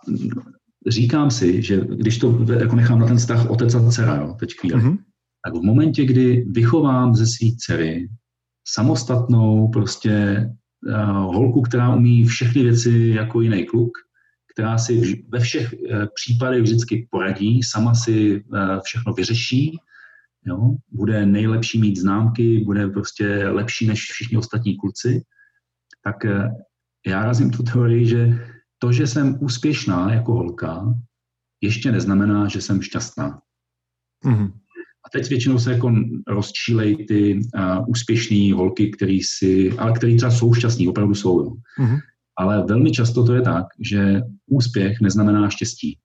říkám si, že když to jako nechám na ten vztah otec a dcera, jo, teď chvíli, mm-hmm. tak v momentě, kdy vychovám ze svý dcery samostatnou prostě uh, holku, která umí všechny věci jako jiný kluk, která si ve všech případech vždycky poradí, sama si všechno vyřeší, jo? Bude nejlepší mít známky, bude prostě lepší než všichni ostatní kluci, tak já razím tu teorii, že to, že jsem úspěšná jako holka, ještě neznamená, že jsem šťastná. Mm-hmm. A teď většinou se jako rozčílejí ty uh, úspěšné holky, který si, ale který třeba jsou šťastní, opravdu jsou. Jo? Mm-hmm. Ale velmi často to je tak, že úspěch neznamená štěstí.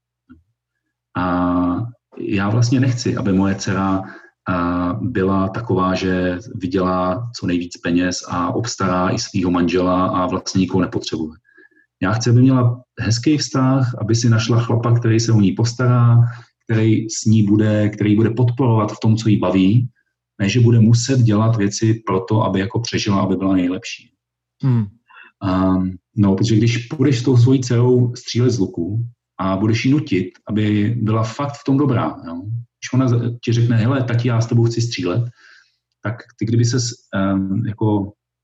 A já vlastně nechci, aby moje dcera byla taková, že vydělá co nejvíc peněz a obstará i svého manžela a vlastně nikoho nepotřebuje. Já chci, aby měla hezký vztah, aby si našla chlapa, který se o ní postará, který s ní bude, který bude podporovat v tom, co jí baví, ne, že bude muset dělat věci pro to, aby jako přežila, aby byla nejlepší. Hmm. Um, no, protože když půjdeš s tou svojí dcerou střílet z luku a budeš jí nutit, aby byla fakt v tom dobrá, jo? Když ona ti řekne, hele, tati, já s tebou chci střílet, tak ty kdyby ses um, jako,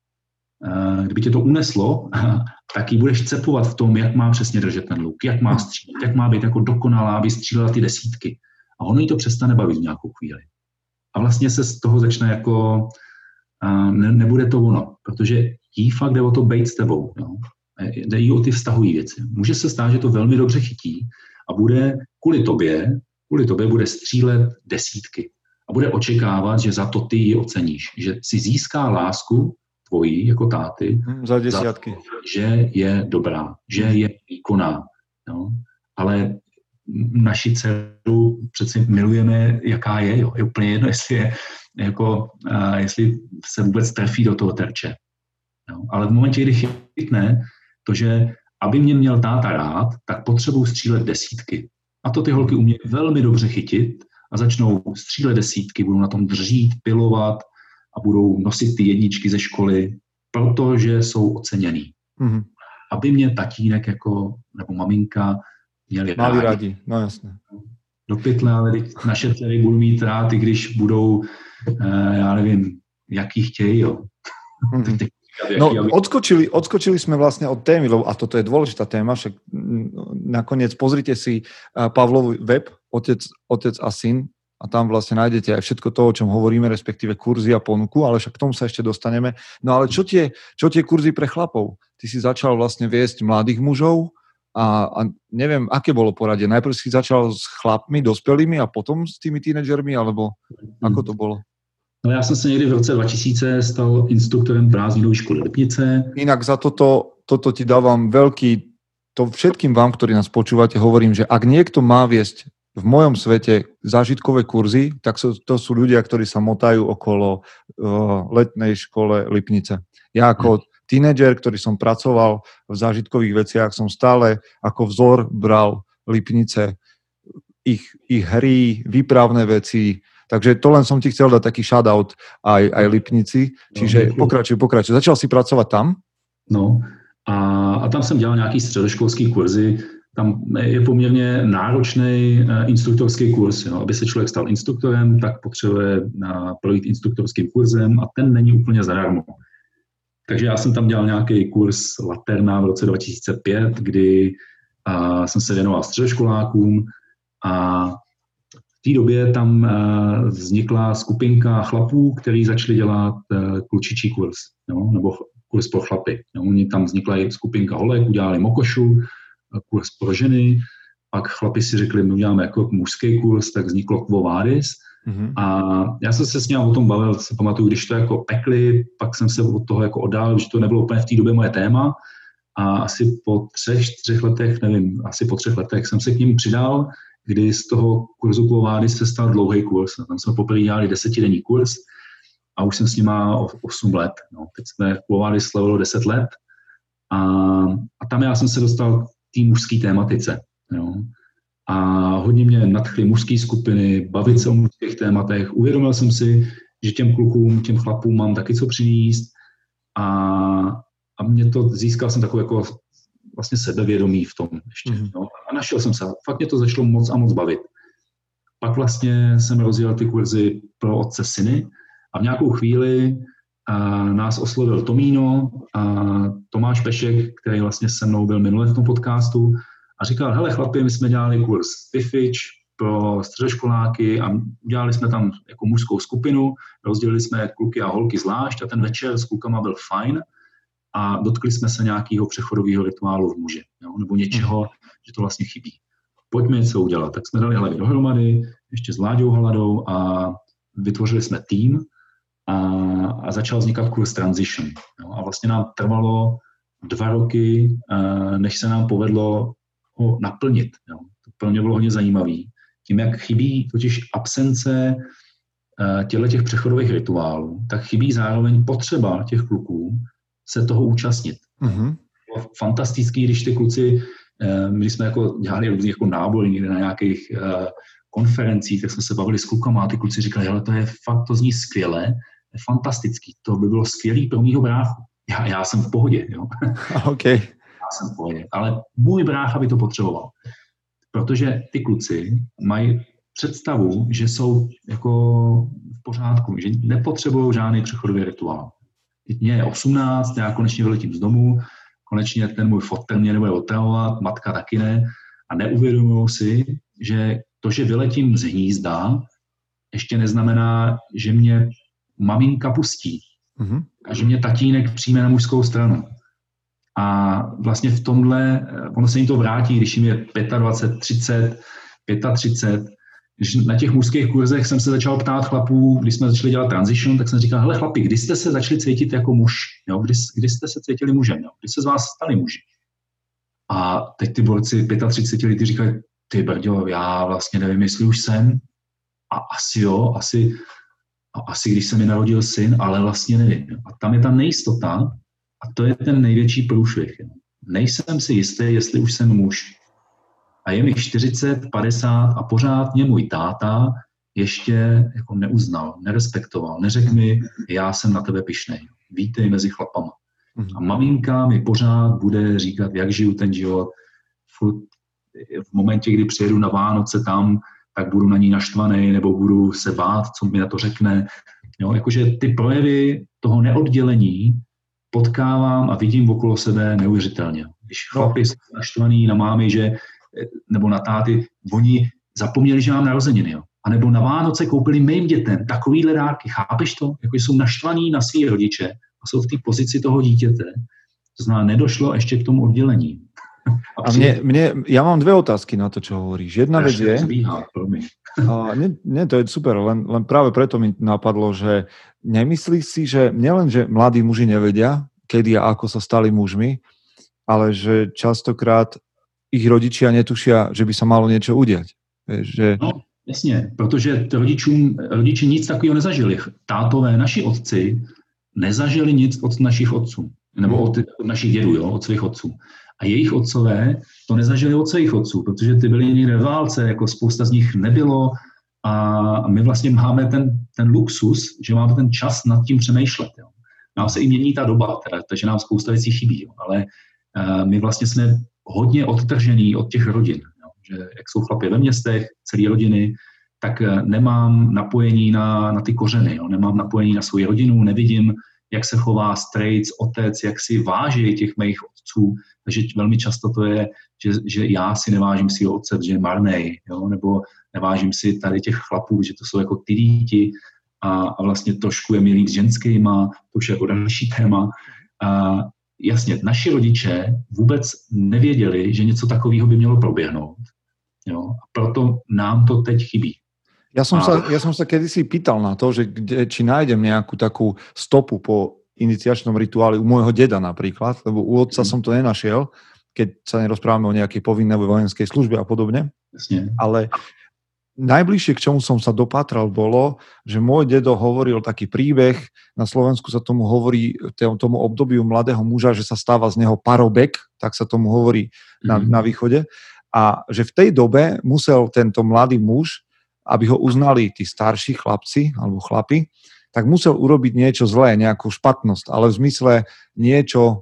uh, kdyby tě to uneslo, tak jí budeš cepovat v tom, jak má přesně držet ten luk, jak má střílet, jak má být jako dokonalá, aby střílela ty desítky. A ono jí to přestane bavit v nějakou chvíli. A vlastně se z toho začne jako, uh, ne, nebude to ono, protože jí fakt jde o to bejt s tebou. Jo? Jde jí o ty vztahují věci. Může se stát, že to velmi dobře chytí a bude kvůli tobě, kvůli tobě bude střílet desítky. A bude očekávat, že za to ty ji oceníš. Že si získá lásku tvojí jako táty hmm, za desítky. Za to, že je dobrá, že je výkonná. Jo? Ale naši dceru přeci milujeme, jaká je. Jo? Je úplně jedno, jestli, je, jako, uh, jestli se vůbec trefí do toho terče. Jo? Ale v momentě, kdy chytne to, že aby mě měl táta rád, tak potřebuji střílet desítky. A to ty holky umějí velmi dobře chytit a začnou střílet desítky, budou na tom držít, pilovat a budou nosit ty jedničky ze školy, protože jsou oceněný. Mm-hmm. Aby mě tatínek jako, nebo maminka měli rádi. rádi. No jasně. Do pytle, ale naše dcery budou mít rád, i když budou, eh, já nevím, jaký chtějí, jo. Mm-hmm. No, odskočili, odskočili sme vlastne od témy, lebo, a toto je dôležitá téma, však nakoniec pozrite si Pavlov web, otec, otec a syn, a tam vlastne nájdete aj všetko to, o čom hovoríme, respektíve kurzy a ponuku, ale však k tomu sa ešte dostaneme. No ale čo tie, čo tie kurzy pre chlapov? Ty si začal vlastne viesť mladých mužov a, a neviem, aké bolo poradie. Najprv si začal s chlapmi, dospelými a potom s tými tínedžermi, alebo ako to bolo? No já jsem se někdy v roce dva tisíce stal instruktorem prázdninovej školy Lipnice. Inak za toto, toto ti dávam veľký, to všetkým vám, ktorí nás počúvate, hovorím, že ak niekto má viesť v mojom svete zážitkové kurzy, tak sú, to sú ľudia, ktorí sa motajú okolo uh, letnej škole Lipnice. Ja ako tínedžer, ktorý som pracoval v zážitkových veciach, som stále ako vzor bral Lipnice, ich, ich hry, výpravné veci. Takže to len som ti chcel dať taký shoutout aj, aj Lipnici. Čiže no, pokračuj, pokračuj. Začal si pracovat tam? No a, a tam jsem dělal nějaký středoškolský kurzy. Tam je poměrně náročný uh, instruktorský kurz. Jo. Aby se člověk stal instruktorem, tak potřebuje uh, projít instruktorským kurzem a ten není úplně zadarmo. Takže já jsem tam dělal nějaký kurz Laterna v roce dva tisíce pět, kdy uh, jsem se věnoval středoškolákům a v té době tam uh, vznikla skupinka chlapů, kteří začali dělat uh, klučičí kurz, jo, nebo kurz pro chlapy. Jo. Oni tam vznikla i skupinka holek, udělali mokošu, uh, kurz pro ženy, pak chlapi si řekli, my uděláme jako mužský kurz, tak vzniklo Quo Vadis Mm-hmm. A já jsem se s ním o tom bavil, si pamatuju, když to jako pekli, pak jsem se od toho jako oddálil, že to nebylo úplně v té době moje téma. A asi po třech, čtyřech letech, nevím, asi po třech letech jsem se k ním přidal, kdy z toho kurzu Quo Vadis se stal dlouhý kurz. Tam jsme poprvé dělali desetidenní kurz a už jsem s nima osm let. No. Teď jsme Quo Vadis slavilo deset let a, a tam já jsem se dostal k té mužské tématice. Jo. A hodně mě nadchly mužské skupiny, bavit se o mužských tématech. Uvědomil jsem si, že těm klukům, těm chlapům mám taky co přinést a, a mě to, získal jsem takové jako vlastně sebevědomí v tom ještě. Mm. No. A našel jsem se. Fakt mě to začalo moc a moc bavit. Pak vlastně jsem rozjel ty kurzy pro otce syny a v nějakou chvíli a nás oslovil Tomíno a Tomáš Pešek, který vlastně se mnou byl minule v tom podcastu a říkal, hele chlapi, my jsme dělali kurz Fifič pro středoškoláky a udělali jsme tam jako mužskou skupinu, rozdělili jsme kluky a holky zvlášť a ten večer s klukama byl fajn a dotkli jsme se nějakého přechodového rituálu v muži, jo, nebo něčeho, že to vlastně chybí. Pojďme něco udělat. Tak jsme dali hlavy dohromady, ještě s Láďou Haladou a vytvořili jsme tým a, a začal vznikat kurz Transition. Jo, a vlastně nám trvalo dva roky, než se nám povedlo ho naplnit. Jo. To pro mě bylo hodně zajímavý. Tím, jak chybí totiž absence těchto těch přechodových rituálů, tak chybí zároveň potřeba těch kluků se toho účastnit. Mm-hmm. Bylo fantastický, když ty kluci, my jsme jako dělali různý jako nábory někde na nějakých uh, konferencích, tak jsme se bavili s klukama a ty kluci říkali, hele, to je fakt, to zní skvěle, je fantastický, to by bylo skvělý pro mýho bráchu. Já, já jsem v pohodě, jo. Okay. Já jsem v pohodě, ale můj brácha by to potřeboval. Protože ty kluci mají představu, že jsou jako v pořádku, že nepotřebují žádný přechodový rituál. Mně je osmnáct, já konečně vyletím z domu, konečně ten můj fotel mě nebude otravovat, matka taky ne a neuvědomují si, že to, že vyletím z hnízda, ještě neznamená, že mě maminka pustí mm-hmm. a že mě tatínek přijme na mužskou stranu. A vlastně v tomhle, ono se jim to vrátí, když jim je dvacet pět, třicet, třicet pět, když na těch mužských kurzech jsem se začal ptát chlapů, když jsme začali dělat transition, tak jsem říkal, hele chlapi, kdy jste se začali cítit jako muž? Jo? Kdy, kdy jste se cítili mužem? Jo? Kdy se z vás stali muži? A teď ty borci třicet pět lety říkají, ty brďo, já vlastně nevím, jestli už jsem. A asi jo, asi, a asi když se mi narodil syn, ale vlastně nevím. Jo? A tam je ta nejistota a to je ten největší průšvih. Jo? Nejsem si jistý, jestli už jsem muž. A je mi čtyřicet, padesát a pořád mě můj táta ještě jako neuznal, nerespektoval, neřekl mi, já jsem na tebe pyšnej, vítej mezi chlapama. A maminka mi pořád bude říkat, jak žiju ten život. Furt v momentě, kdy přijedu na Vánoce tam, tak budu na ní naštvaný, nebo budu se bát, co mi na to řekne. Jo, jakože ty projevy toho neoddělení potkávám a vidím okolo sebe neuvěřitelně. Když chlapi jsou naštvaný na mámy, že nebo na táty, oni zapomněli, že mám narozeniny, jo. A nebo na Vánoce koupili mým dětem takovýhle dárky, chápeš to? Jako jsou naštvaní na svý rodiče a jsou v té pozici toho dítěte. To znamená, nedošlo ještě k tomu oddělení. A, a mne, mne, ja mám dve otázky na to, čo hovoríš. Jedna vec je... Zvíhá, a nie, nie, to je super, len, len práve preto mi napadlo, že nemyslíš si, že nielen, že mladí muži nevedia, kedy a ako sa stali mužmi, ale že častokrát ich rodičia netušia, že by sa malo niečo udiať. Že... No, jasně, protože rodičům, rodiči nic takového nezažili. Tátové, naši otci, nezažili nic od našich otců. Nebo od, od našich dědů, jo, od svých otců. A jejich otcové to nezažili od svých otců, protože ty byli někde v válce, jako spousta z nich nebylo a my vlastně máme ten, ten luxus, že máme ten čas nad tím přemýšlet. Jo. Nám se i mění ta doba, teda, takže nám spousta věcí chybí, jo. Ale uh, my vlastně jsme hodně odtržený od těch rodin. Jo. Že jak jsou chlapi ve městech, celé rodiny, tak nemám napojení na, na ty kořeny, jo. Nemám napojení na svou rodinu, nevidím, jak se chová strejc, otec, jak si váží těch mých otců. Takže velmi často to je, že, že já si nevážím svýho otce, že je marnej, jo? Nebo nevážím si tady těch chlapů, že to jsou jako ty díti a, a vlastně trošku je mi líp s ženskýma, to už je jako další téma. A jasně, naši rodiče vůbec nevěděli, že něco takového by mělo proběhnout. Jo? A proto nám to teď chybí. Ja som, a... sa, ja som sa kedysi pýtal na to, že kde, či nájdem nejakú takú stopu po iniciačnom rituáli u môjho deda napríklad, lebo u otca mm. som to nenašiel, keď sa nerozprávame o nejakej povinnej vojenskej službe a podobne. Jasne. Ale najbližšie, k čomu som sa dopátral, bolo, že môj dedo hovoril taký príbeh, na Slovensku sa tomu hovorí, tomu obdobiu mladého muža, že sa stáva z neho parobek, tak sa tomu hovorí na, mm. na východe, a že v tej dobe musel tento mladý muž, aby ho uznali tí starší chlapci, alebo chlapi, tak musel urobiť niečo zlé, nejakú špatnosť, ale v zmysle niečo,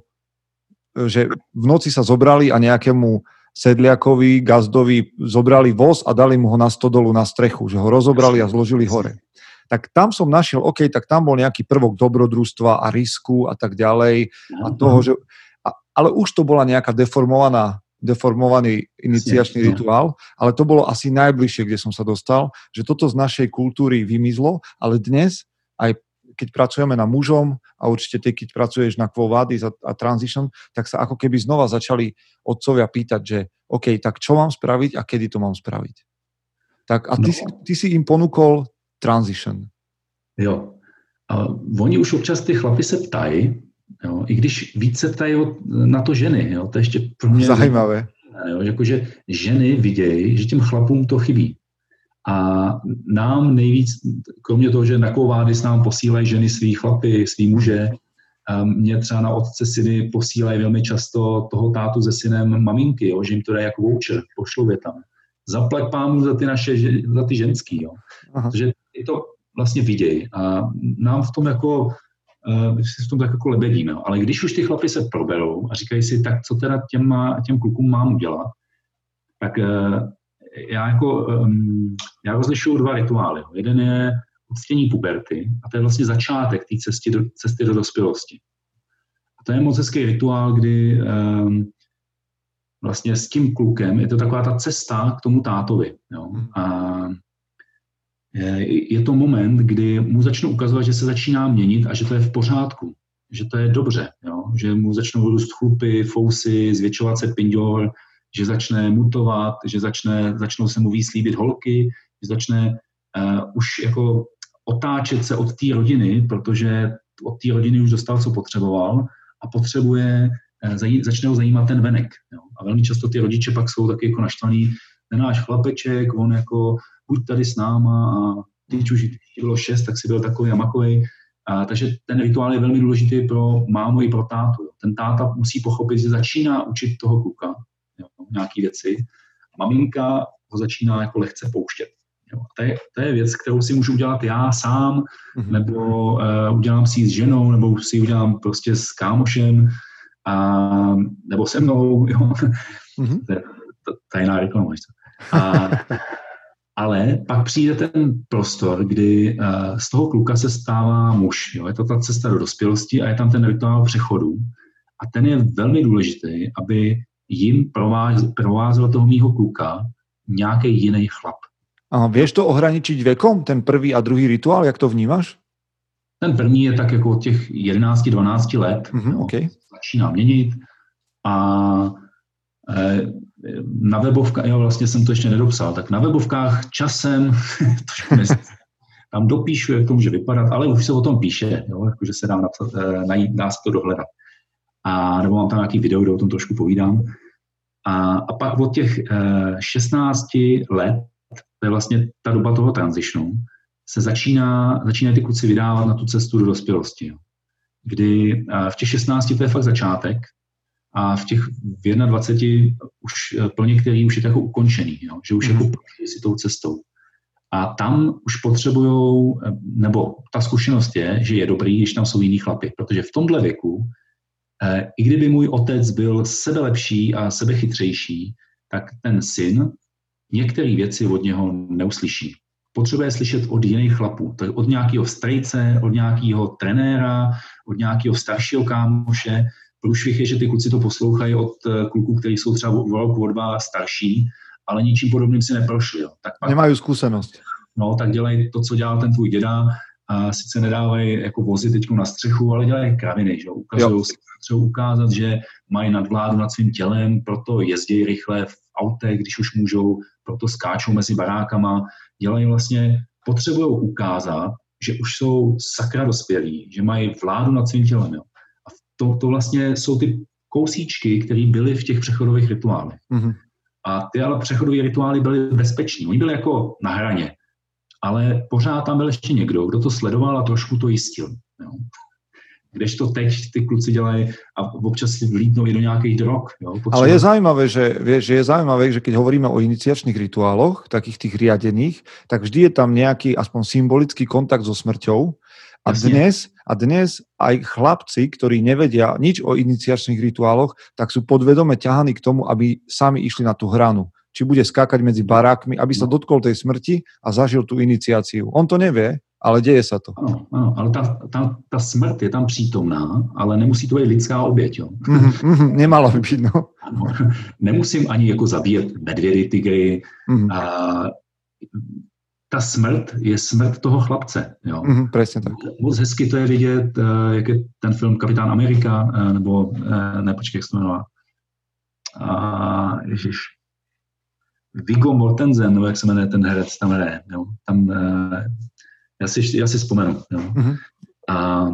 že v noci sa zobrali a nejakému sedliakovi, gazdovi zobrali voz a dali mu ho na stodolu na strechu, že ho rozobrali a zložili hore. Tak tam som našiel, OK, tak tam bol nejaký prvok dobrodružstva a risku a tak ďalej. A toho, že, a, ale už to bola nejaká deformovaná, deformovaný iniciačný rituál, ale to bolo asi najbližšie, kde som sa dostal, že toto z našej kultúry vymizlo, ale dnes aj keď pracujeme na mužom a určite ty, keď pracuješ na Quo Vadis a, a Transition, tak sa ako keby znova začali otcovia pýtať, že OK, tak čo mám spraviť a kedy to mám spraviť? Tak a ty, no. si, ty si im ponúkol Transition. Jo. A oni už občas ty chlapi se ptají, jo, i když víc se ptají na to ženy, jo, to je ještě pro mě zajímavé. Jo, jakože ženy vidějí, že těm chlapům to chybí. A nám nejvíc, kromě toho, že na Quo Vadis nám posílají ženy svý chlapy, svý muže, mě třeba na otce syny posílají velmi často toho tátu se synem maminky, jo, že jim to dá jako voucher, pošlou je tam. Zaplať pámu za ty naše, za ty ženský, jo. Protože je to vlastně viděj a nám v tom jako, v tom tak jako lebedíme, jo. Ale když už ty chlapy se proberou a říkají si, tak co teda těm, těm klukům mám udělat, tak já jako, um, já rozlišuju dva rituály. Jeden je uctění puberty a to je vlastně začátek té cesty do, cesty do dospělosti. A to je moc hezký rituál, kdy um, vlastně s tím klukem je to taková ta cesta k tomu tátovi. Jo? A je, je to moment, kdy mu začnu ukazovat, že se začíná měnit a že to je v pořádku, že to je dobře, jo? Že mu začnou růst chlupy, fousy, zvětšovat se pinďol, že začne mutovat, že začne, začnou se mu víc líbit holky, že začne uh, už jako otáčet se od té rodiny, protože od té rodiny už dostal, co potřeboval a potřebuje, uh, zaj, začne ho zajímat ten venek. Jo. A velmi často ty rodiče pak jsou taky jako naštvaný, ten náš chlapeček, on jako buď tady s náma a teď už bylo šest, tak si byl takový a makovej. A, takže ten rituál je velmi důležitý pro mámu i pro tátu. Ten táta musí pochopit, že začíná učit toho kluka, jo, nějaký věci. A maminka ho začíná jako lehce pouštět. Jo. A to, je, to je věc, kterou si můžu udělat já sám, mm-hmm. nebo uh, udělám si ji s ženou, nebo si ji udělám prostě s kámošem, a, nebo se mnou. Jo. Mm-hmm. To je tajná reklama. A, ale pak přijde ten prostor, kdy uh, z toho kluka se stává muž. Jo. Je to ta cesta do dospělosti a je tam ten rituál přechodu. A ten je velmi důležitý, aby jim provázel toho mýho kluka nějaký jiný chlap. A vieš to ohraničiť vekom, ten prvý a druhý rituál, jak to vnímáš? Ten první je tak jako od těch jedenáct dvanáct let, mm-hmm, no, okay. Začíná měnit a e, na webovkách, jo, vlastně jsem to ještě nedopsal, tak na webovkách časem tam dopíšu, jak to může vypadat, ale už se o tom píše, jo, jakože se dá napsat, e, najít, dá se to dohledat. A nebo mám tam nějaký video, kde o tom trošku povídám. A, a pak od těch e, šestnácti let, to je vlastně ta doba toho transitionu, se začíná, začínají ty kluci vydávat na tu cestu do dospělosti. Jo. Kdy e, v těch šestnácti to je fakt začátek a v těch v dvaceti už pro některý už je to jako ukončený, jo, že už mm. jako prošli si tou cestou. A tam už potřebujou, nebo ta zkušenost je, že je dobrý, když tam jsou jiný chlapy, protože v tomhle věku i kdyby můj otec byl sebelepší a sebechytřejší, tak ten syn některé věci od něho neuslyší. Potřebuje slyšet od jiných chlapů, to je od nějakého strejce, od nějakého trenéra, od nějakého staršího kámoše. Průšvih je, že ty kluci to poslouchají od kluků, kteří jsou třeba o rok, o dva starší, ale ničím podobným si neprošli. Jo. Tak pak, nemají zkušenost. No, tak dělají to, co dělal ten tvůj děda, a sice nedávají jako vozy teď na střechu, ale dělají kraviny, že ukazují si, třeba ukázat, že mají nadvládu nad svým tělem, proto jezdí rychle v autech, když už můžou, proto skáčou mezi barákama, dělají vlastně, potřebují ukázat, že už jsou sakra dospělí, že mají vládu nad svým tělem. Jo. A to, to vlastně jsou ty kousíčky, které byly v těch přechodových rituálech. Mm-hmm. A ty ale přechodové rituály byly bezpeční. Oni byli jako na hraně. Ale pořád tam byl ještě někdo, kdo to sledoval a trošku to jistil. Jo. Kdežto teď ty kluci dělají a občas si vlídnou i do nějakých drog. Jo. Potřeba... Ale je zaujímavé, že, že je zaujímavé, že keď hovoríme o iniciačných rituáloch, takých tých riadených, tak vždy je tam nejaký aspoň symbolický kontakt so smrťou. A dnes, a dnes aj chlapci, ktorí nevedia nič o iniciačných rituáloch, tak sú podvedome ťahaní k tomu, aby sami išli na tú hranu. Či bude skákať medzi barákmi, aby sa dotkol tej smrti a zažil tú iniciáciu. On to nevie, ale deje sa to. Ano, ano, ale ta, ta, ta smrt je tam přítomná, ale nemusí to být lidská oběť. Jo. Mm, mm, nemalo by byť, no. Nemusím ani jako zabíjet medvědy, tygry. Mm. A, ta smrt je smrt toho chlapce. Jo. Mm, presne tak. Moc hezky to je vidět, jak je ten film Kapitán Amerika, nebo, ne, počkej, jak se to jmenuje. A, ježiš. Viggo Mortensen, nebo jak se jmenuje ten herec, tam hraje. Jo. Tam, já si, já si vzpomenu. Jo. Mm-hmm. A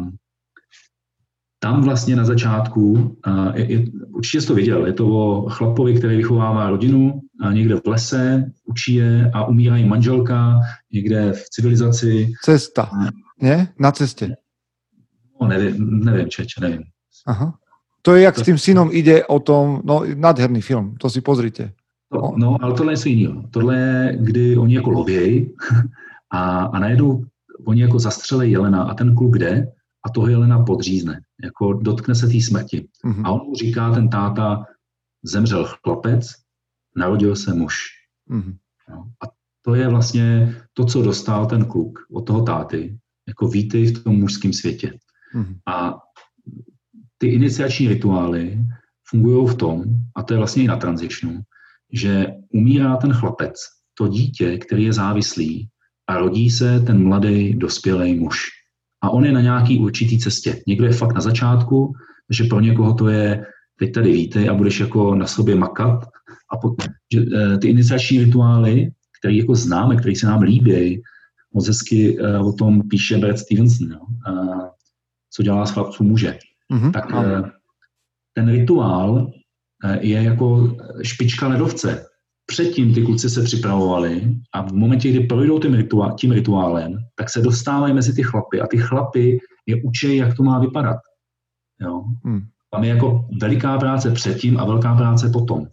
tam vlastně na začátku, a je, je, určitě jsi to viděl, je to o chlapovi, který vychovává rodinu a někde v lese, učí je a umírá jim manželka, někde v civilizaci. Cesta, ne? Na cestě. No, nevím, nevím, čeče, nevím. Aha. To je, jak to... s tým synom ide o tom, no nádherný film, to si pozrite. To, no, ale tohle je něco jiného. Tohle je, kdy oni jako lovějí a, a najednou oni jako zastřelej jelena a ten kluk jde a toho jelena podřízne. Jako dotkne se té smrti. Mm-hmm. A on mu říká, ten táta, zemřel chlapec, narodil se muž. Mm-hmm. No, a to je vlastně to, co dostal ten kluk od toho táty. Jako vítej v tom mužském světě. Mm-hmm. A ty iniciační rituály fungují v tom, a to je vlastně i na tranzitionu, že umírá ten chlapec, to dítě, který je závislý, a rodí se ten mladý, dospělý muž. A on je na nějaký určitý cestě. Někdo je fakt na začátku, že pro někoho to je, teď tady vítej a budeš jako na sobě makat. A po, že, e, ty iniciační rituály, které jako známe, které se nám líbí, moc hezky e, o tom píše Brad Stevenson, no, e, co dělá z chlapců muže. Mm-hmm. Tak e, ten rituál e, je jako špička ledovce. Předtím ty kluci se připravovali a v momentě, kdy projdou tím, rituál, tím rituálem, tak se dostávají mezi ty chlapy a ty chlapy je učí, jak to má vypadat. Jo? Hmm. Tam je jako veliká práce předtím a velká práce potom.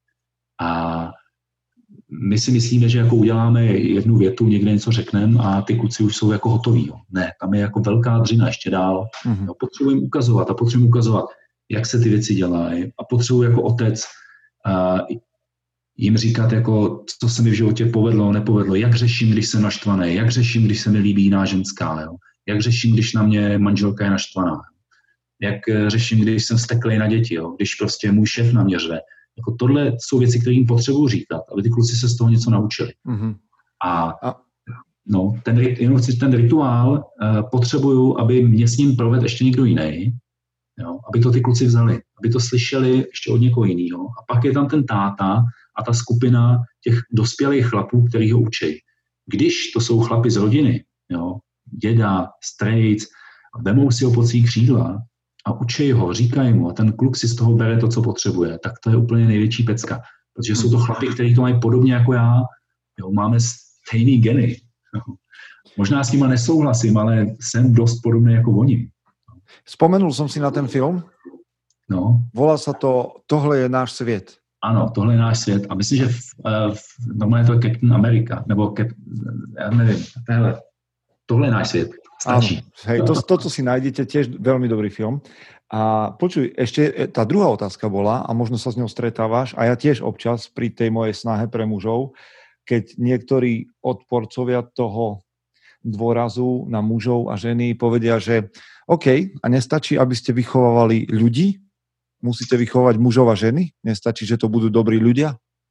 A my si myslíme, že jako uděláme jednu větu, někde něco řekneme a ty kluci už jsou jako hotoví. Jo? Ne, tam je jako velká dřina ještě dál. Hmm. Jo? Potřebujeme ukazovat a potřebujeme ukazovat, jak se ty věci dělají a potřebuji jako otec uh, jim říkat, jako, co se mi v životě povedlo, nepovedlo, jak řeším, když jsem naštvaný, jak řeším, když se mi líbí jiná ženská, jo? Jak řeším, když na mě manželka je naštvaná, jak řeším, když jsem vzteklej na děti, jo? Když prostě můj šéf na mě řve. Jako tohle jsou věci, které jim potřebuji říkat, aby ty kluci se z toho něco naučili. Mm-hmm. A no, ten, jenom chci, ten rituál uh, potřebuju, aby mě s ním provedl ještě někdo jiný, jo? Aby to ty kluci vzali, aby to slyšeli ještě od někoho jiného. A pak je tam ten táta, a ta skupina těch dospělých chlapů, který ho učí. Když to jsou chlapi z rodiny, jo, děda, strejc, vemou si ho pod svý křídla a učí ho, říkají mu a ten kluk si z toho bere to, co potřebuje, tak to je úplně největší pecka. Protože jsou to chlapi, kteří to mají podobně jako já. Jo, máme stejný geny. Jo. Možná s nima nesouhlasím, ale jsem dost podobný jako oni. Spomenul som si na ten film. No. Volá sa to Tohle je náš svět. Ano, tohle je náš svět. A myslím, že v, v, normálně to je Captain America, nebo Cap, já nevím, tohle, tohle je náš svět. Stačí. Áno, hej, to, to, co si nájdete, tiež veľmi dobrý film. A počuj, ešte tá druhá otázka bola, a možno sa s ňou stretávaš, a ja tiež občas pri tej mojej snahe pre mužov, keď niektorí odporcovia toho dôrazu na mužov a ženy povedia, že OK, a nestačí, aby ste vychovávali ľudí, musíte vychovať mužov a ženy? Nestačí, že to budú dobrí ľudia?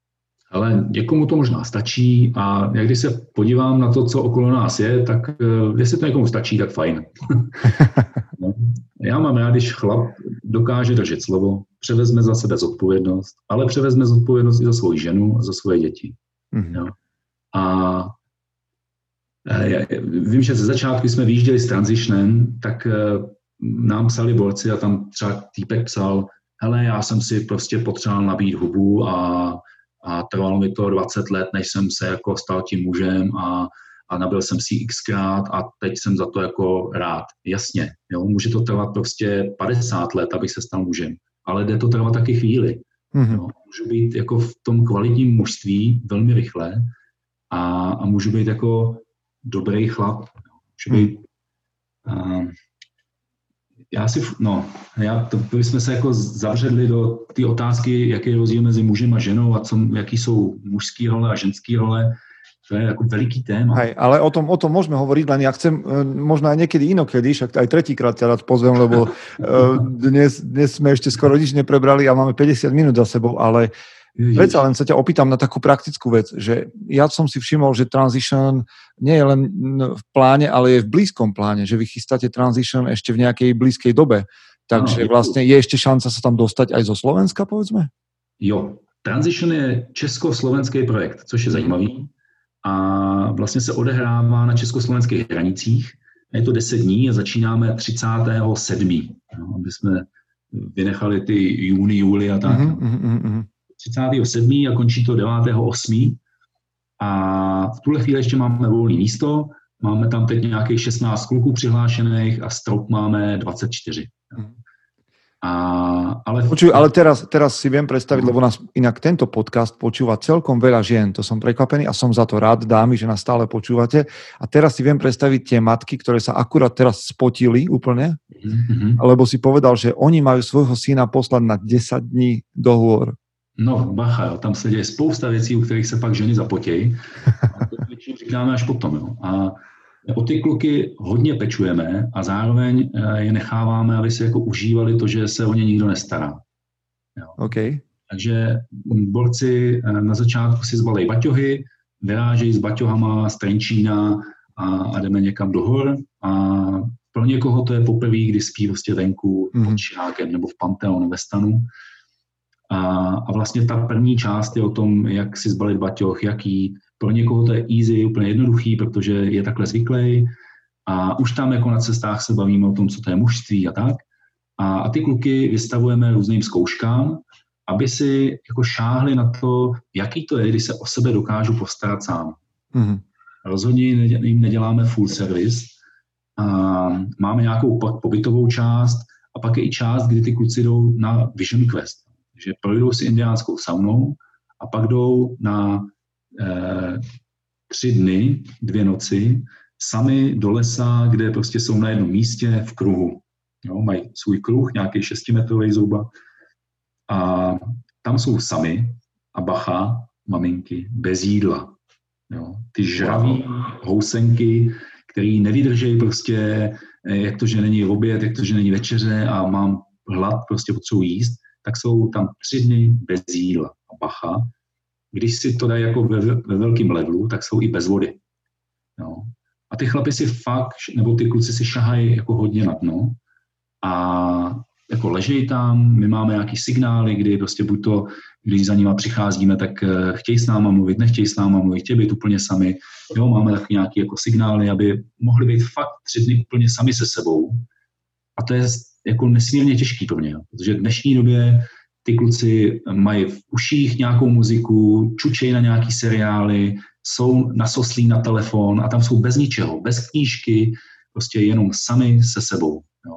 Ale někomu to možná stačí a jak když se podívám na to, co okolo nás je, tak jestli to někomu stačí, tak fajn. No. Já mám rád, když chlap dokáže držet slovo, převezme za sebe zodpovědnost, ale převezme zodpovědnost i za svou ženu a za svoje děti. Mm-hmm. Jo. A já, vím, že ze začátku jsme vyjížděli s Transitionem, tak nám psali borci a tam třeba týpek psal, hele, já jsem si prostě potřeboval nabít hubu a, a trvalo mi to dvacet let, než jsem se jako stal tím mužem a, a nabil jsem si xkrát a teď jsem za to jako rád. Jasně, jo, může to trvat prostě padesát let, abych se stal mužem, ale jde to trvat taky chvíli. Mm-hmm. Jo. Můžu být jako v tom kvalitním mužství velmi rychle a, a můžu být jako dobrý chlap. Můžu být... Mm. Já si, no, já, to bychom se jako zavředli do té otázky, jaký je rozdíl mezi mužem a ženou a co, jaký jsou mužský role a ženský role. To je jako veliký téma. Hej, ale o tom, o tom môžeme hovoriť, len ja chcem možno aj niekedy inokedy, však aj tretíkrát ťa rád pozvem, lebo dnes, dnes sme ešte skoro nič neprebrali a máme päťdesiat minút za sebou, ale predsa len sa ťa opýtam na takú praktickú vec, že ja som si všimol, že Transition nie je len v pláne, ale je v blízkom pláne, že vy chystáte Transition ešte v nejakej blízkej dobe. Takže vlastne je ešte šanca sa tam dostať aj zo Slovenska, povedzme? Jo, Transition je československý projekt, což je zajímavý. A vlastně se odehrává na československých hranicích. Je to deset dní a začínáme třicátého sedmého No, aby jsme vynechali ty júny, júli a tak. Mm-hmm, mm-hmm. třicátého sedmého a končí to devátého osmého A v tuhle chvíli ještě máme volné místo. Máme tam teď nějakých šestnáct kluků přihlášených a strop máme dvacet čtyři Mm. A, ale... Počuj, ale teraz, teraz si viem predstaviť, lebo nás inak tento podcast počúva celkom veľa žien, to som prekvapený a som za to rád, dámy, že nás stále počúvate. A teraz si viem predstaviť tie matky, ktoré sa akurát teraz spotili úplne, mm-hmm. lebo si povedal, že oni majú svojho syna poslať na desať dní do hôr. No, bacha, jo, tam se děje spousta věcí, u kterých se pak ženy zapotějí. A to většinou říkáme až potom. Jo. A o ty kluky hodně pečujeme a zároveň je necháváme, aby si jako užívali to, že se o ně nikdo nestará. Jo. Okay. Takže borci na začátku si zbalej baťohy, vyrážejí s baťohama z Trenčína a, a jdeme někam do hor. A pro někoho to je poprvé, kdy spí prostě venku mm-hmm. pod Širákem nebo v Panteonu ve stanu. A, a vlastně ta první část je o tom, jak si zbalit baťoh, jaký. Pro někoho to je easy, úplně jednoduchý, protože je takhle zvyklý. A už tam jako na cestách se bavíme o tom, co to je mužství a tak. A, a ty kluky vystavujeme různým zkouškám, aby si jako šáhli na to, jaký to je, když se o sebe dokážu postarat sám. Mm-hmm. Rozhodně jim neděláme full service. A máme nějakou pobytovou část a pak je i část, kdy ty kluci jdou na Vision Quest. Takže projdou si indiánskou saunou a pak jdou na eh, tři dny, dvě noci sami do lesa, kde prostě jsou na jednom místě v kruhu. Jo, mají svůj kruh, nějaký šestimetrový zhruba a tam jsou sami a bacha, maminky, bez jídla. Jo, ty žraví housenky, který nevydržejí prostě, jak to, že není oběd, jak to, že není večeře a mám hlad, prostě potřebuji jíst, tak jsou tam tři dny bez jídla. A bacha, když si to dají jako ve, ve velkém levelu, tak jsou i bez vody. Jo. A ty chlapi si fakt, nebo ty kluci si šahají jako hodně na dno a jako ležejí tam, my máme nějaký signály, kdy prostě buď to, když za nima přicházíme, tak chtějí s náma mluvit, nechtějí s náma mluvit, chtějí být úplně sami. Jo, máme taky nějaké jako signály, aby mohli být fakt tři dny úplně sami se sebou. A to je jako nesmírně těžký pro mě, protože v dnešní době ty kluci mají v uších nějakou muziku, čučejí na nějaký seriály, jsou nasoslí na telefon a tam jsou bez ničeho, bez knížky, prostě jenom sami se sebou. Jo.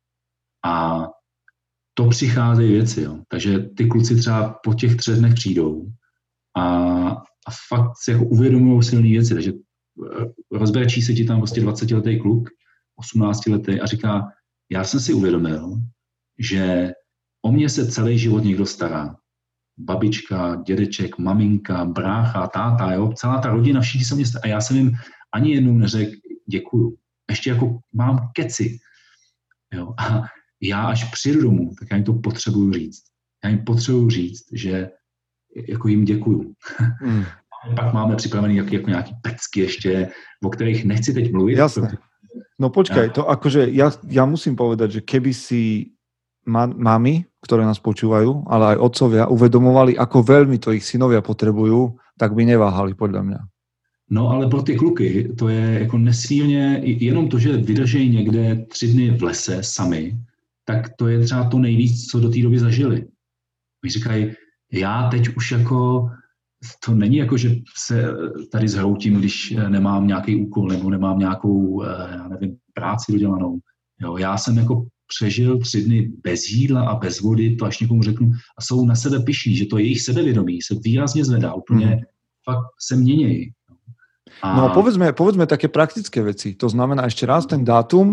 A to přicházejí věci, jo. Takže ty kluci třeba po těch třech dnech přijdou a, a fakt si jako uvědomují silné věci, takže rozbrečí se ti tam prostě dvacetiletý kluk, osmnáctiletý a říká, já jsem si uvědomil, že o mě se celý život někdo stará. Babička, dědeček, maminka, brácha, táta, jo, celá ta rodina, všichni se mě stará. A já jsem jim ani jednou neřekl děkuju. Ještě jako mám keci. Jo. A já až přijdu domů, tak já jim to potřebuju říct. Já jim potřebuju říct, že jako jim děkuju. Mm. Pak máme připravený jako, jako nějaký pecky ještě, o kterých nechci teď mluvit. Jasné. No počkaj, to akože ja, ja musím povedať, že keby si ma, mami, ktoré nás počúvajú, ale aj otcovia uvedomovali, ako veľmi to ich synovia potrebujú, tak by neváhali podľa mňa. No ale pro ty kluky to je jako nesmírně, jenom to, že vydržejí někde tři dny v lese sami, tak to je třeba to nejvíc, co do té doby zažili. Oni říkají, já teď už jako, to není jako, že se tady zhroutím, když nemám nějaký úkol nebo nemám nějakou, já nevím, práci dodělanou. Jo, já jsem jako přežil tři dny bez jídla a bez vody, to až někomu řeknu, a jsou na sebe pyšní, že to jejich sebevědomí se výrazně zvedá, úplně mm. fakt se měnějí. A... No povedzme, povedzme také praktické veci. To znamená ešte raz ten dátum.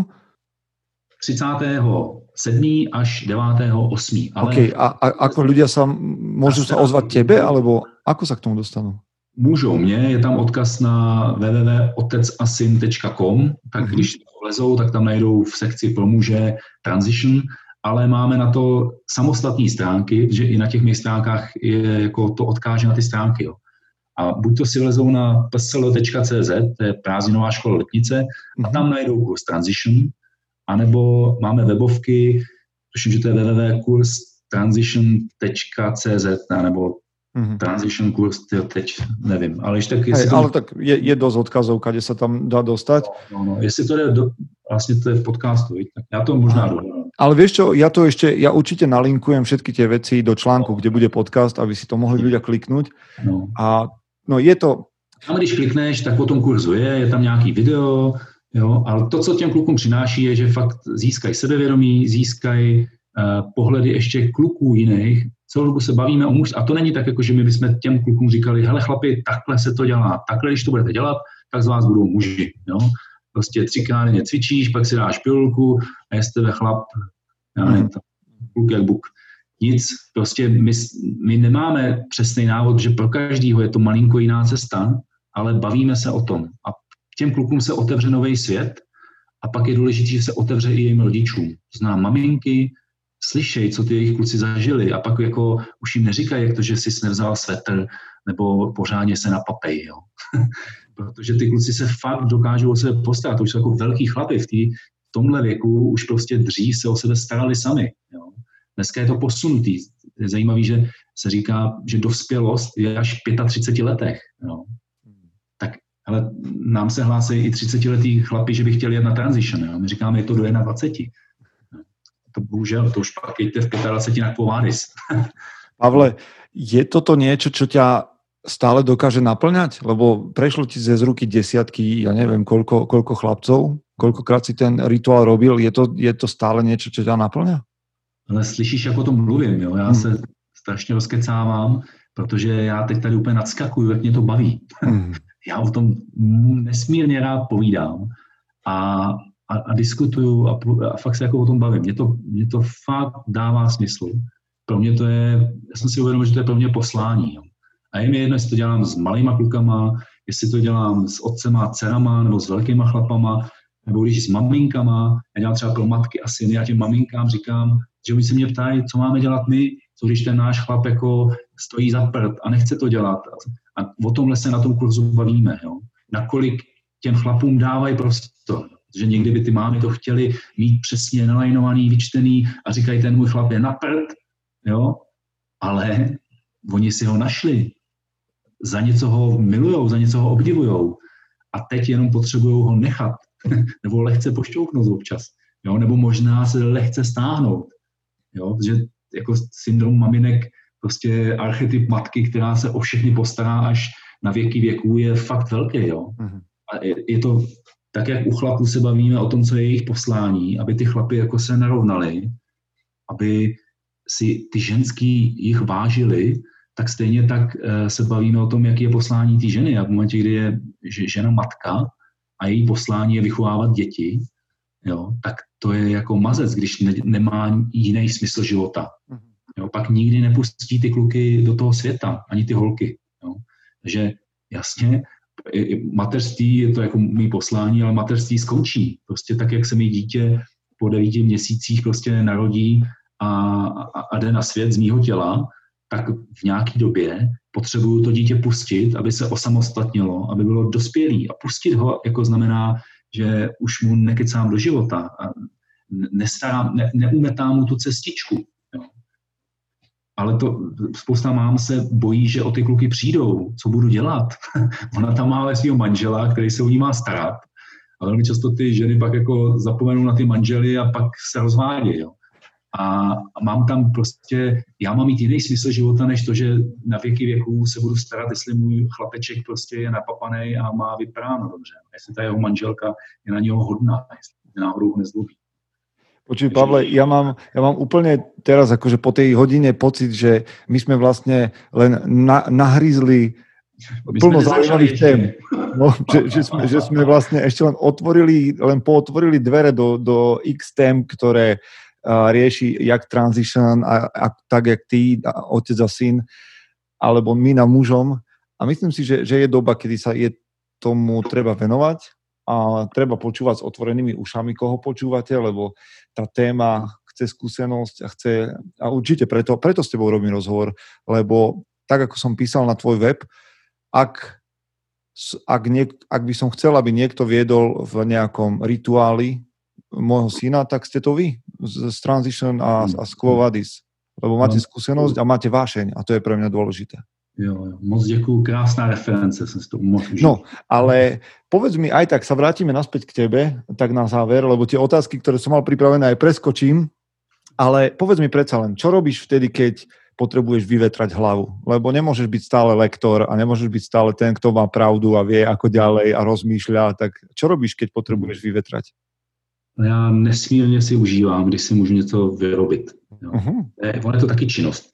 tridsiateho siedmeho až devátého ôsmeho Ale... OK, a, a ako ľudia sa môžu sa ozvať tebe, alebo ako sa k tomu dostanú? Můžou mě, je tam odkaz na w w w tečka otec a syn tečka com, tak mm-hmm. když vlezou, tak tam najdou v sekci pro muže Transition, ale máme na to samostatné stránky, že i na těch mých stránkách je, jako to odkáže na ty stránky. Jo. A buď to si vlezou na p s l tečka c z, to je prázdninová škola Letnice, a tam najdou kurz Transition, anebo máme webovky, tuším, že to je w w w tečka kurz transition tečka c z, nebo mm-hmm. Transition kurz, teď nevím, ale ještě tak... Hej, to... ale tak je, je dosť odkazov, kde sa tam dá dostať. No, no, jestli to je, do, vlastně to je v podcastu, tak já to možná dohľadám. Ale vieš čo, ja to ešte, ja určite nalinkujem všetky tie veci do článku, no. kde bude podcast, aby si to mohli ľudia kliknúť. No. A no je to... Tam, když klikneš, tak po tom kurzu je, je tam nějaký video, jo, ale to, co těm klukům přináší, je, že fakt získají sebevědomí, získají uh, pohledy ještě kluků jiných. Celou dobu se bavíme o muž, a to není tak, jako že my bychom těm klukům říkali, hele chlapi, takhle se to dělá, takhle, když to budete dělat, tak z vás budou muži, jo. Prostě třikrát denně cvičíš, pak si dáš pilulku a je z tebe chlap, já nevím, kluk jak buk. Nic, prostě my, my nemáme přesný návod, že pro každýho je to malinko jiná cesta, ale bavíme se o tom. A těm klukům se otevře nový svět a pak je důležité, že se otevře i jejím rodičům. Znám maminky, slyšej, co ty jejich kluci zažili a pak jako už jim neříkají, jak to, že jsi nevzal svetr nebo pořádně se napapej, jo. Protože ty kluci se fakt dokážou o sebe postarat, to už jsou jako velký chlapi v, tý, v tomhle věku, už prostě dřív se o sebe starali sami, jo. Dneska je to posunutý. Je zajímavý, že se říká, že dospělost je až v třiceti pěti letech. Jo. Tak ale nám se hlásí i třicetiletí chlapi, že by chtěli jet na transition. Jo. My říkáme, je to do dvaceti jedna. To bohužel, to už pak jděte v dvaceti pěti na povádis. Pavle, je toto niečo, čo ťa stále dokáže naplňať? Lebo prešlo ti z ruky desiatky, ja neviem, koľko, koľko chlapcov, koľkokrát si ten rituál robil. Je to, je to stále niečo, čo ťa naplňa? Ale slyšíš, jak o tom mluvím, jo? Já hmm. se strašně rozkecávám, protože já teď tady úplně nadskakuju, jak mě to baví. Hmm. Já o tom nesmírně rád povídám a, a, a diskutuju a, a fakt se jako o tom bavím. Mně to, mě to fakt dává smysl. Pro mě to je, já jsem si uvědomil, že to je pro mě poslání. Jo? A je mi jedno, jestli to dělám s malýma klukama, jestli to dělám s otcema a dcerama, nebo s velkýma chlapama, nebo když s maminkama, já dělám třeba pro matky a syny, já těm maminkám říkám, že oni se mě ptají, co máme dělat my, co když ten náš chlap jako stojí za prd a nechce to dělat. A o tomhle se na tom kurzu bavíme, jo. Nakolik těm chlapům dávají prostor. Že někdy by ty mámy to chtěly mít přesně nalajnovaný, vyčtený a říkají, ten můj chlap je na prd, jo. Ale oni si ho našli. Za něco ho milujou, za něco ho obdivujou. A teď jenom potřebují ho nechat. Nebo lehce pošťouknout občas. Jo? Nebo možná se lehce stáhnout. Jo? Že jako syndrom maminek, prostě archetyp matky, která se o všechny postará až na věky věků, je fakt velký. Jo? Mm-hmm. A je, je to tak, jak u chlapů se bavíme o tom, co je jejich poslání, aby ty chlapy jako se narovnali, aby si ty ženský jich vážili, tak stejně tak uh, se bavíme o tom, jaký je poslání té ženy. A v momentě, kdy je žena matka a její poslání je vychovávat děti, jo, tak to je jako mazec, když ne, nemá jiný smysl života. Jo, pak nikdy nepustí ty kluky do toho světa, ani ty holky. Jo. Takže jasně, mateřství je to jako mý poslání, ale mateřství skončí. Prostě tak, jak se mi dítě po devíti měsících prostě narodí a, a, a jde na svět z mýho těla, tak v nějaké době potřebuju to dítě pustit, aby se osamostatnilo, aby bylo dospělý. A pustit ho jako znamená, že už mu nekecám do života a nestarám, ne, neumetám mu tu cestičku. Jo. Ale to spousta mám se bojí, že o ty kluky přijdou, co budu dělat. Ona tam má ale svého manžela, který se o ní má starat. A velmi často ty ženy pak jako zapomenou na ty manžely a pak se rozvádějí. Jo. A mám tam prostě, já mám mít jiný smysl života, než to, že na věky věků se budu starat, jestli můj chlapeček prostě je napapanej a má vypráno dobře. Jestli ta jeho manželka je na něho hodná, jestli náhodou ho nezlobí. Počuj, Pavle, ja mám, ja mám úplne teraz akože po tej hodine pocit, že my sme vlastne len na, nahryzli plno zaujímavých tém. No, že, že, sme, že sme vlastne ešte len otvorili, len pootvorili dvere do, do X tém, ktoré uh, rieši jak transition, a, a tak jak ty, a otec a syn, alebo my na mužom. A myslím si, že, že je doba, kedy sa je tomu treba venovať. A treba počúvať s otvorenými ušami, koho počúvate, lebo tá téma chce skúsenosť a chce, a určite preto, preto s tebou robím rozhovor, lebo tak, ako som písal na tvoj web, ak, ak, niek, ak by som chcel, aby niekto viedol v nejakom rituáli môjho syna, tak ste to vy, z Transition a, a z Quo Vadis, lebo máte skúsenosť a máte vášeň a to je pre mňa dôležité. Jo, jo, moc děkuju, krásná reference, som si to moc užil. No, ale povedz mi aj tak, sa vrátime naspäť k tebe, tak na záver, lebo tie otázky, ktoré som mal pripravené, aj preskočím, ale povedz mi predsa len, čo robíš vtedy, keď potrebuješ vyvetrať hlavu? Lebo nemôžeš byť stále lektor a nemôžeš byť stále ten, kto má pravdu a vie, ako ďalej a rozmýšľa, tak čo robíš, keď potrebuješ vyvetrať? Já nesmírně si užívám, když si můžu něco vyrobit. Jo. Uh-huh. Ono je to taky činnost.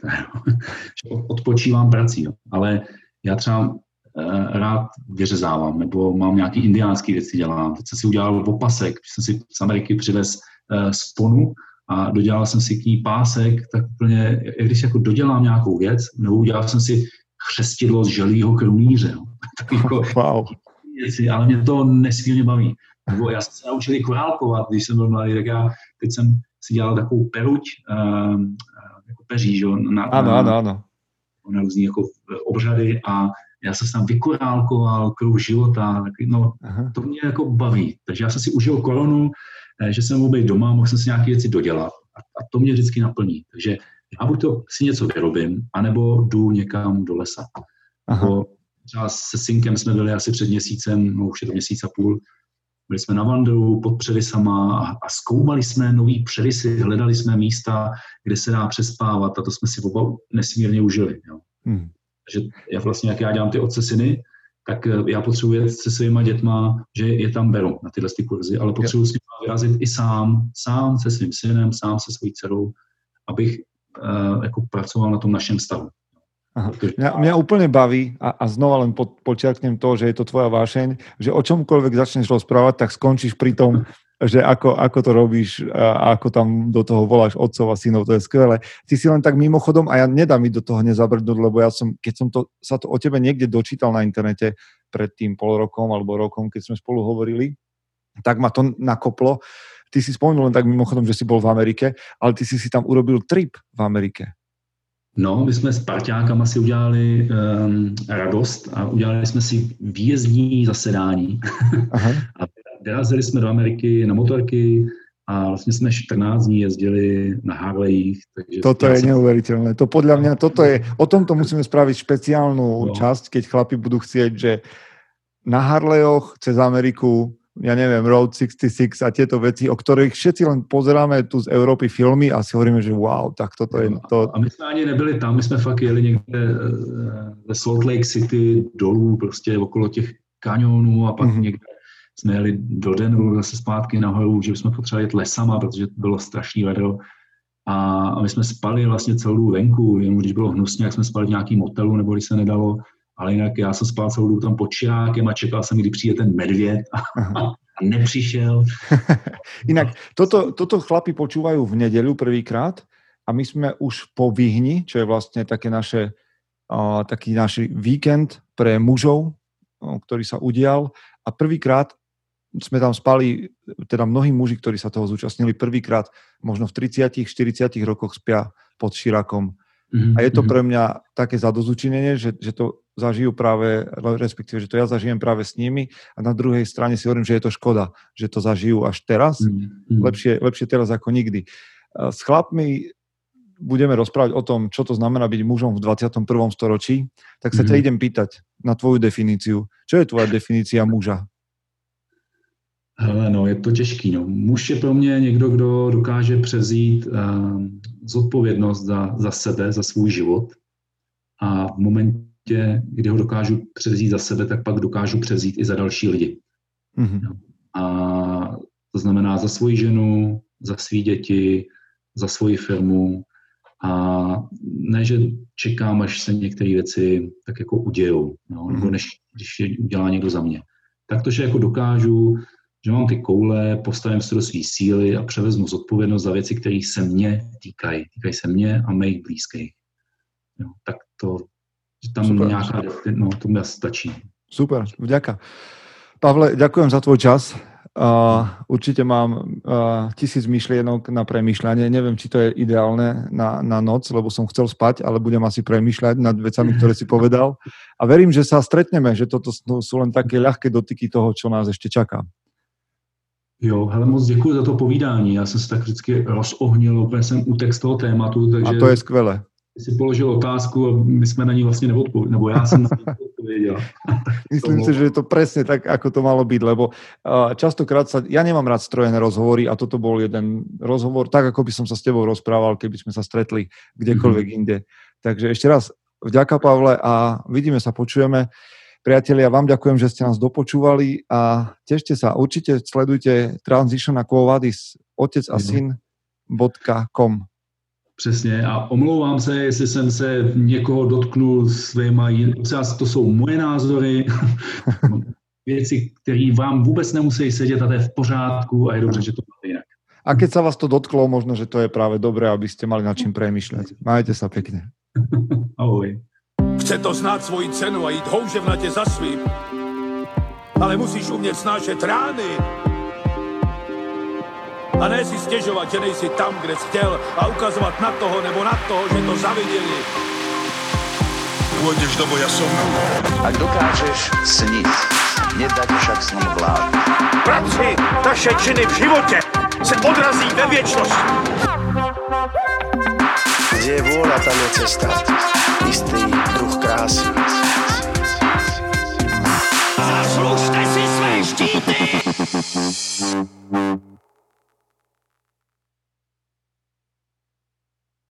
Odpočívám prací, jo. Ale já třeba eh, rád vyřezávám, nebo mám nějaký indiánský věci dělám. Teď jsem si udělal opasek, jsem si z Ameriky přivez eh, sponu a dodělal jsem si k ní pásek, tak úplně, když jako dodělám nějakou věc, nebo udělal jsem si chřestidlo z želýho krunýře. Jo. Jako, wow. věci, ale mě to nesmírně baví. Nebo já jsem se naučil korálkovat, když jsem byl mladý, tak já teď jsem si dělal takovou peruť, uh, jako peří, že, na, ano, na, ano, ano. na různý jako obřady a já jsem tam vykorálkoval kruh života, tak, no, aha. To mě jako baví. Takže já jsem si užil koronu, že jsem mohl být doma, mohl jsem si nějaké věci dodělat a, a to mě vždycky naplní. Takže já buď to si něco vyrobím, anebo jdu někam do lesa. Nebo třeba se synkem jsme byli asi před měsícem, no už je to měsíc a půl, byli jsme na vandru pod převisama a, a zkoumali jsme nový převisy, hledali jsme místa, kde se dá přespávat a to jsme si oba nesmírně užili. Jo. Hmm. Takže já vlastně, jak já dělám ty otce syny, tak já potřebuji jet se svýma dětma, že je tam beru na tyhle ty kurzy, ale potřebuji s nimi vyrazit i sám, sám se svým synem, sám se svojí dcerou, abych uh, jako pracoval na tom našem stavu. Aha. Mňa, mňa úplne baví a, a znova len po, počiarknem to, že je to tvoja vášeň, že o čomkoľvek začneš rozprávať, tak skončíš pri tom, že ako, ako to robíš a ako tam do toho voláš otcov a synov, to je skvelé. Ty si len tak mimochodom, a ja nedám mi do toho nezabrdnúť, lebo ja som, keď som to, sa to o tebe niekde dočítal na internete pred tým pol rokom alebo rokom, keď sme spolu hovorili, tak ma to nakoplo. Ty si spomenul len tak mimochodom, že si bol v Amerike, ale ty si si tam urobil trip v Amerike. No, my jsme s parťákama si udělali um, radost a udělali jsme si výjezdní zasedání. Aha. A vyrazili jsme do Ameriky na motorky a vlastně jsme čtrnáct dní jezdili na Harleyích. Takže toto je jsem... neuveriteľné. To podľa mňa, toto je, o tomto musíme spraviť špeciálnu no. časť, keď chlapi budú chcieť, že na Harleyoch cez Ameriku, ja neviem, Road šesťdesiatšesť a tieto veci, o ktorých všetci len pozeráme tu z Európy filmy a si hovoríme, že wow, tak toto je to. A my jsme ani nebyli tam, my jsme fakt jeli někde ve Salt Lake City dolů, prostě okolo těch kanionů a pak mm-hmm. někde jsme jeli do Denveru zase zpátky nahoru, že jsme potřebovali jet lesama, protože bylo strašný vedro. A my jsme spali vlastně celou dobu venku, jenom když bylo hnusně, jak jsme spali v nějakým hotelu, nebo když se nedalo. Ale jinak já jsem spal celou dobu tam pod čirákem a čekal jsem, kdy přijde ten medvěd a, a nepřišel. Inak, toto, toto chlapi počúvajú v nedeľu prvýkrát a my sme už po Vyhni, čo je vlastne také naše, uh, taký náš víkend pre mužov, uh, ktorý sa udial a prvýkrát sme tam spali, teda mnohí muži, ktorí sa toho zúčastnili prvýkrát, možno v tridsiatich štyridsiatich rokoch spia pod širákom Mm-hmm. A je to pre mňa také zadozučinenie, že, že to zažijú práve, respektíve, že to ja zažijem práve s nimi a na druhej strane si hovorím, že je to škoda, že to zažijú až teraz. Mm-hmm. Lepšie, lepšie teraz ako nikdy. S chlapmi budeme rozprávať o tom, čo to znamená byť mužom v dvadsiatom prvom storočí, tak sa mm-hmm. ťa idem pýtať na tvoju definíciu. Čo je tvoja definícia muža? Hele, no, je to těžký. No. Muž je pro mě někdo, kdo dokáže převzít uh, zodpovědnost za, za sebe, za svůj život. A v momentě, kdy ho dokážu převzít za sebe, tak pak dokážu převzít i za další lidi. Mm-hmm. No. A to znamená za svoji ženu, za svý děti, za svoji firmu. A ne, že čekám, až se některé věci tak jako udějou, no, nebo než když je udělá někdo za mě. Tak to, že jako dokážu, že mám ty koule, postavím se do svý síly a převezmu zodpovědnost za věci, které se mě týkají. Týkají se mě a mých blízkých. Jo, tak to, že tam super, nějaká, no, to mi stačí. Super, vďaka. Pavle, ďakujem za tvoj čas. Uh, určite mám uh, tisíc myšlienok na premýšľanie. Neviem, či to je ideálne na, na noc, lebo som chcel spať, ale budem asi premýšľať nad vecami, ktoré si povedal. A verím, že sa stretneme, že toto sú len také ľahké dotyky toho, čo nás ešte čaká. Jo, hele, moc děkuji za to povídání. Já jsem se tak vždycky rozohnil, úplně jsem utek z toho tématu. Takže a to je skvělé. Si položil otázku a my jsme na ní vlastně neodpověděli, nebo já jsem na ní odpověděl. Myslím si, že je to presne tak, ako to malo byť, lebo uh, častokrát sa, ja nemám rád strojené rozhovory a toto bol jeden rozhovor, tak ako by som sa s tebou rozprával, keby sme sa stretli kdekoľvek mm-hmm. inde. Takže ešte raz vďaka, Pavle, a vidíme sa, počujeme. Priatelia, vám ďakujem, že ste nás dopočúvali a tešte sa. Určite sledujte Transition a Quo Vadis, otec a syn bodka com. Přesně a omlouvám se, jestli jsem se někoho dotknul svýma, to jsou moje názory, věci, které vám vůbec nemusí sedět a to je v pořádku a je dobře, že to máte jinak. A keď sa vás to dotklo, možno, že to je práve dobré, aby ste mali nad čím premýšľať. Majte sa pekne. Ahoj. Chce to znát svoji cenu a jít houževnatě za svým, ale musíš umět snášet rány. A ne si stěžovat, že nejsi tam, kde jsi chtěl a ukazovat na toho nebo na toho, že to zaviděli. Pôjdeš do boja som. Ak dokážeš sniť, nedať však sním vlád. Práci, taše činy v životě se odrazí ve věčnosti. Kde je vôľa, tam je cesta. Istý druh krásy.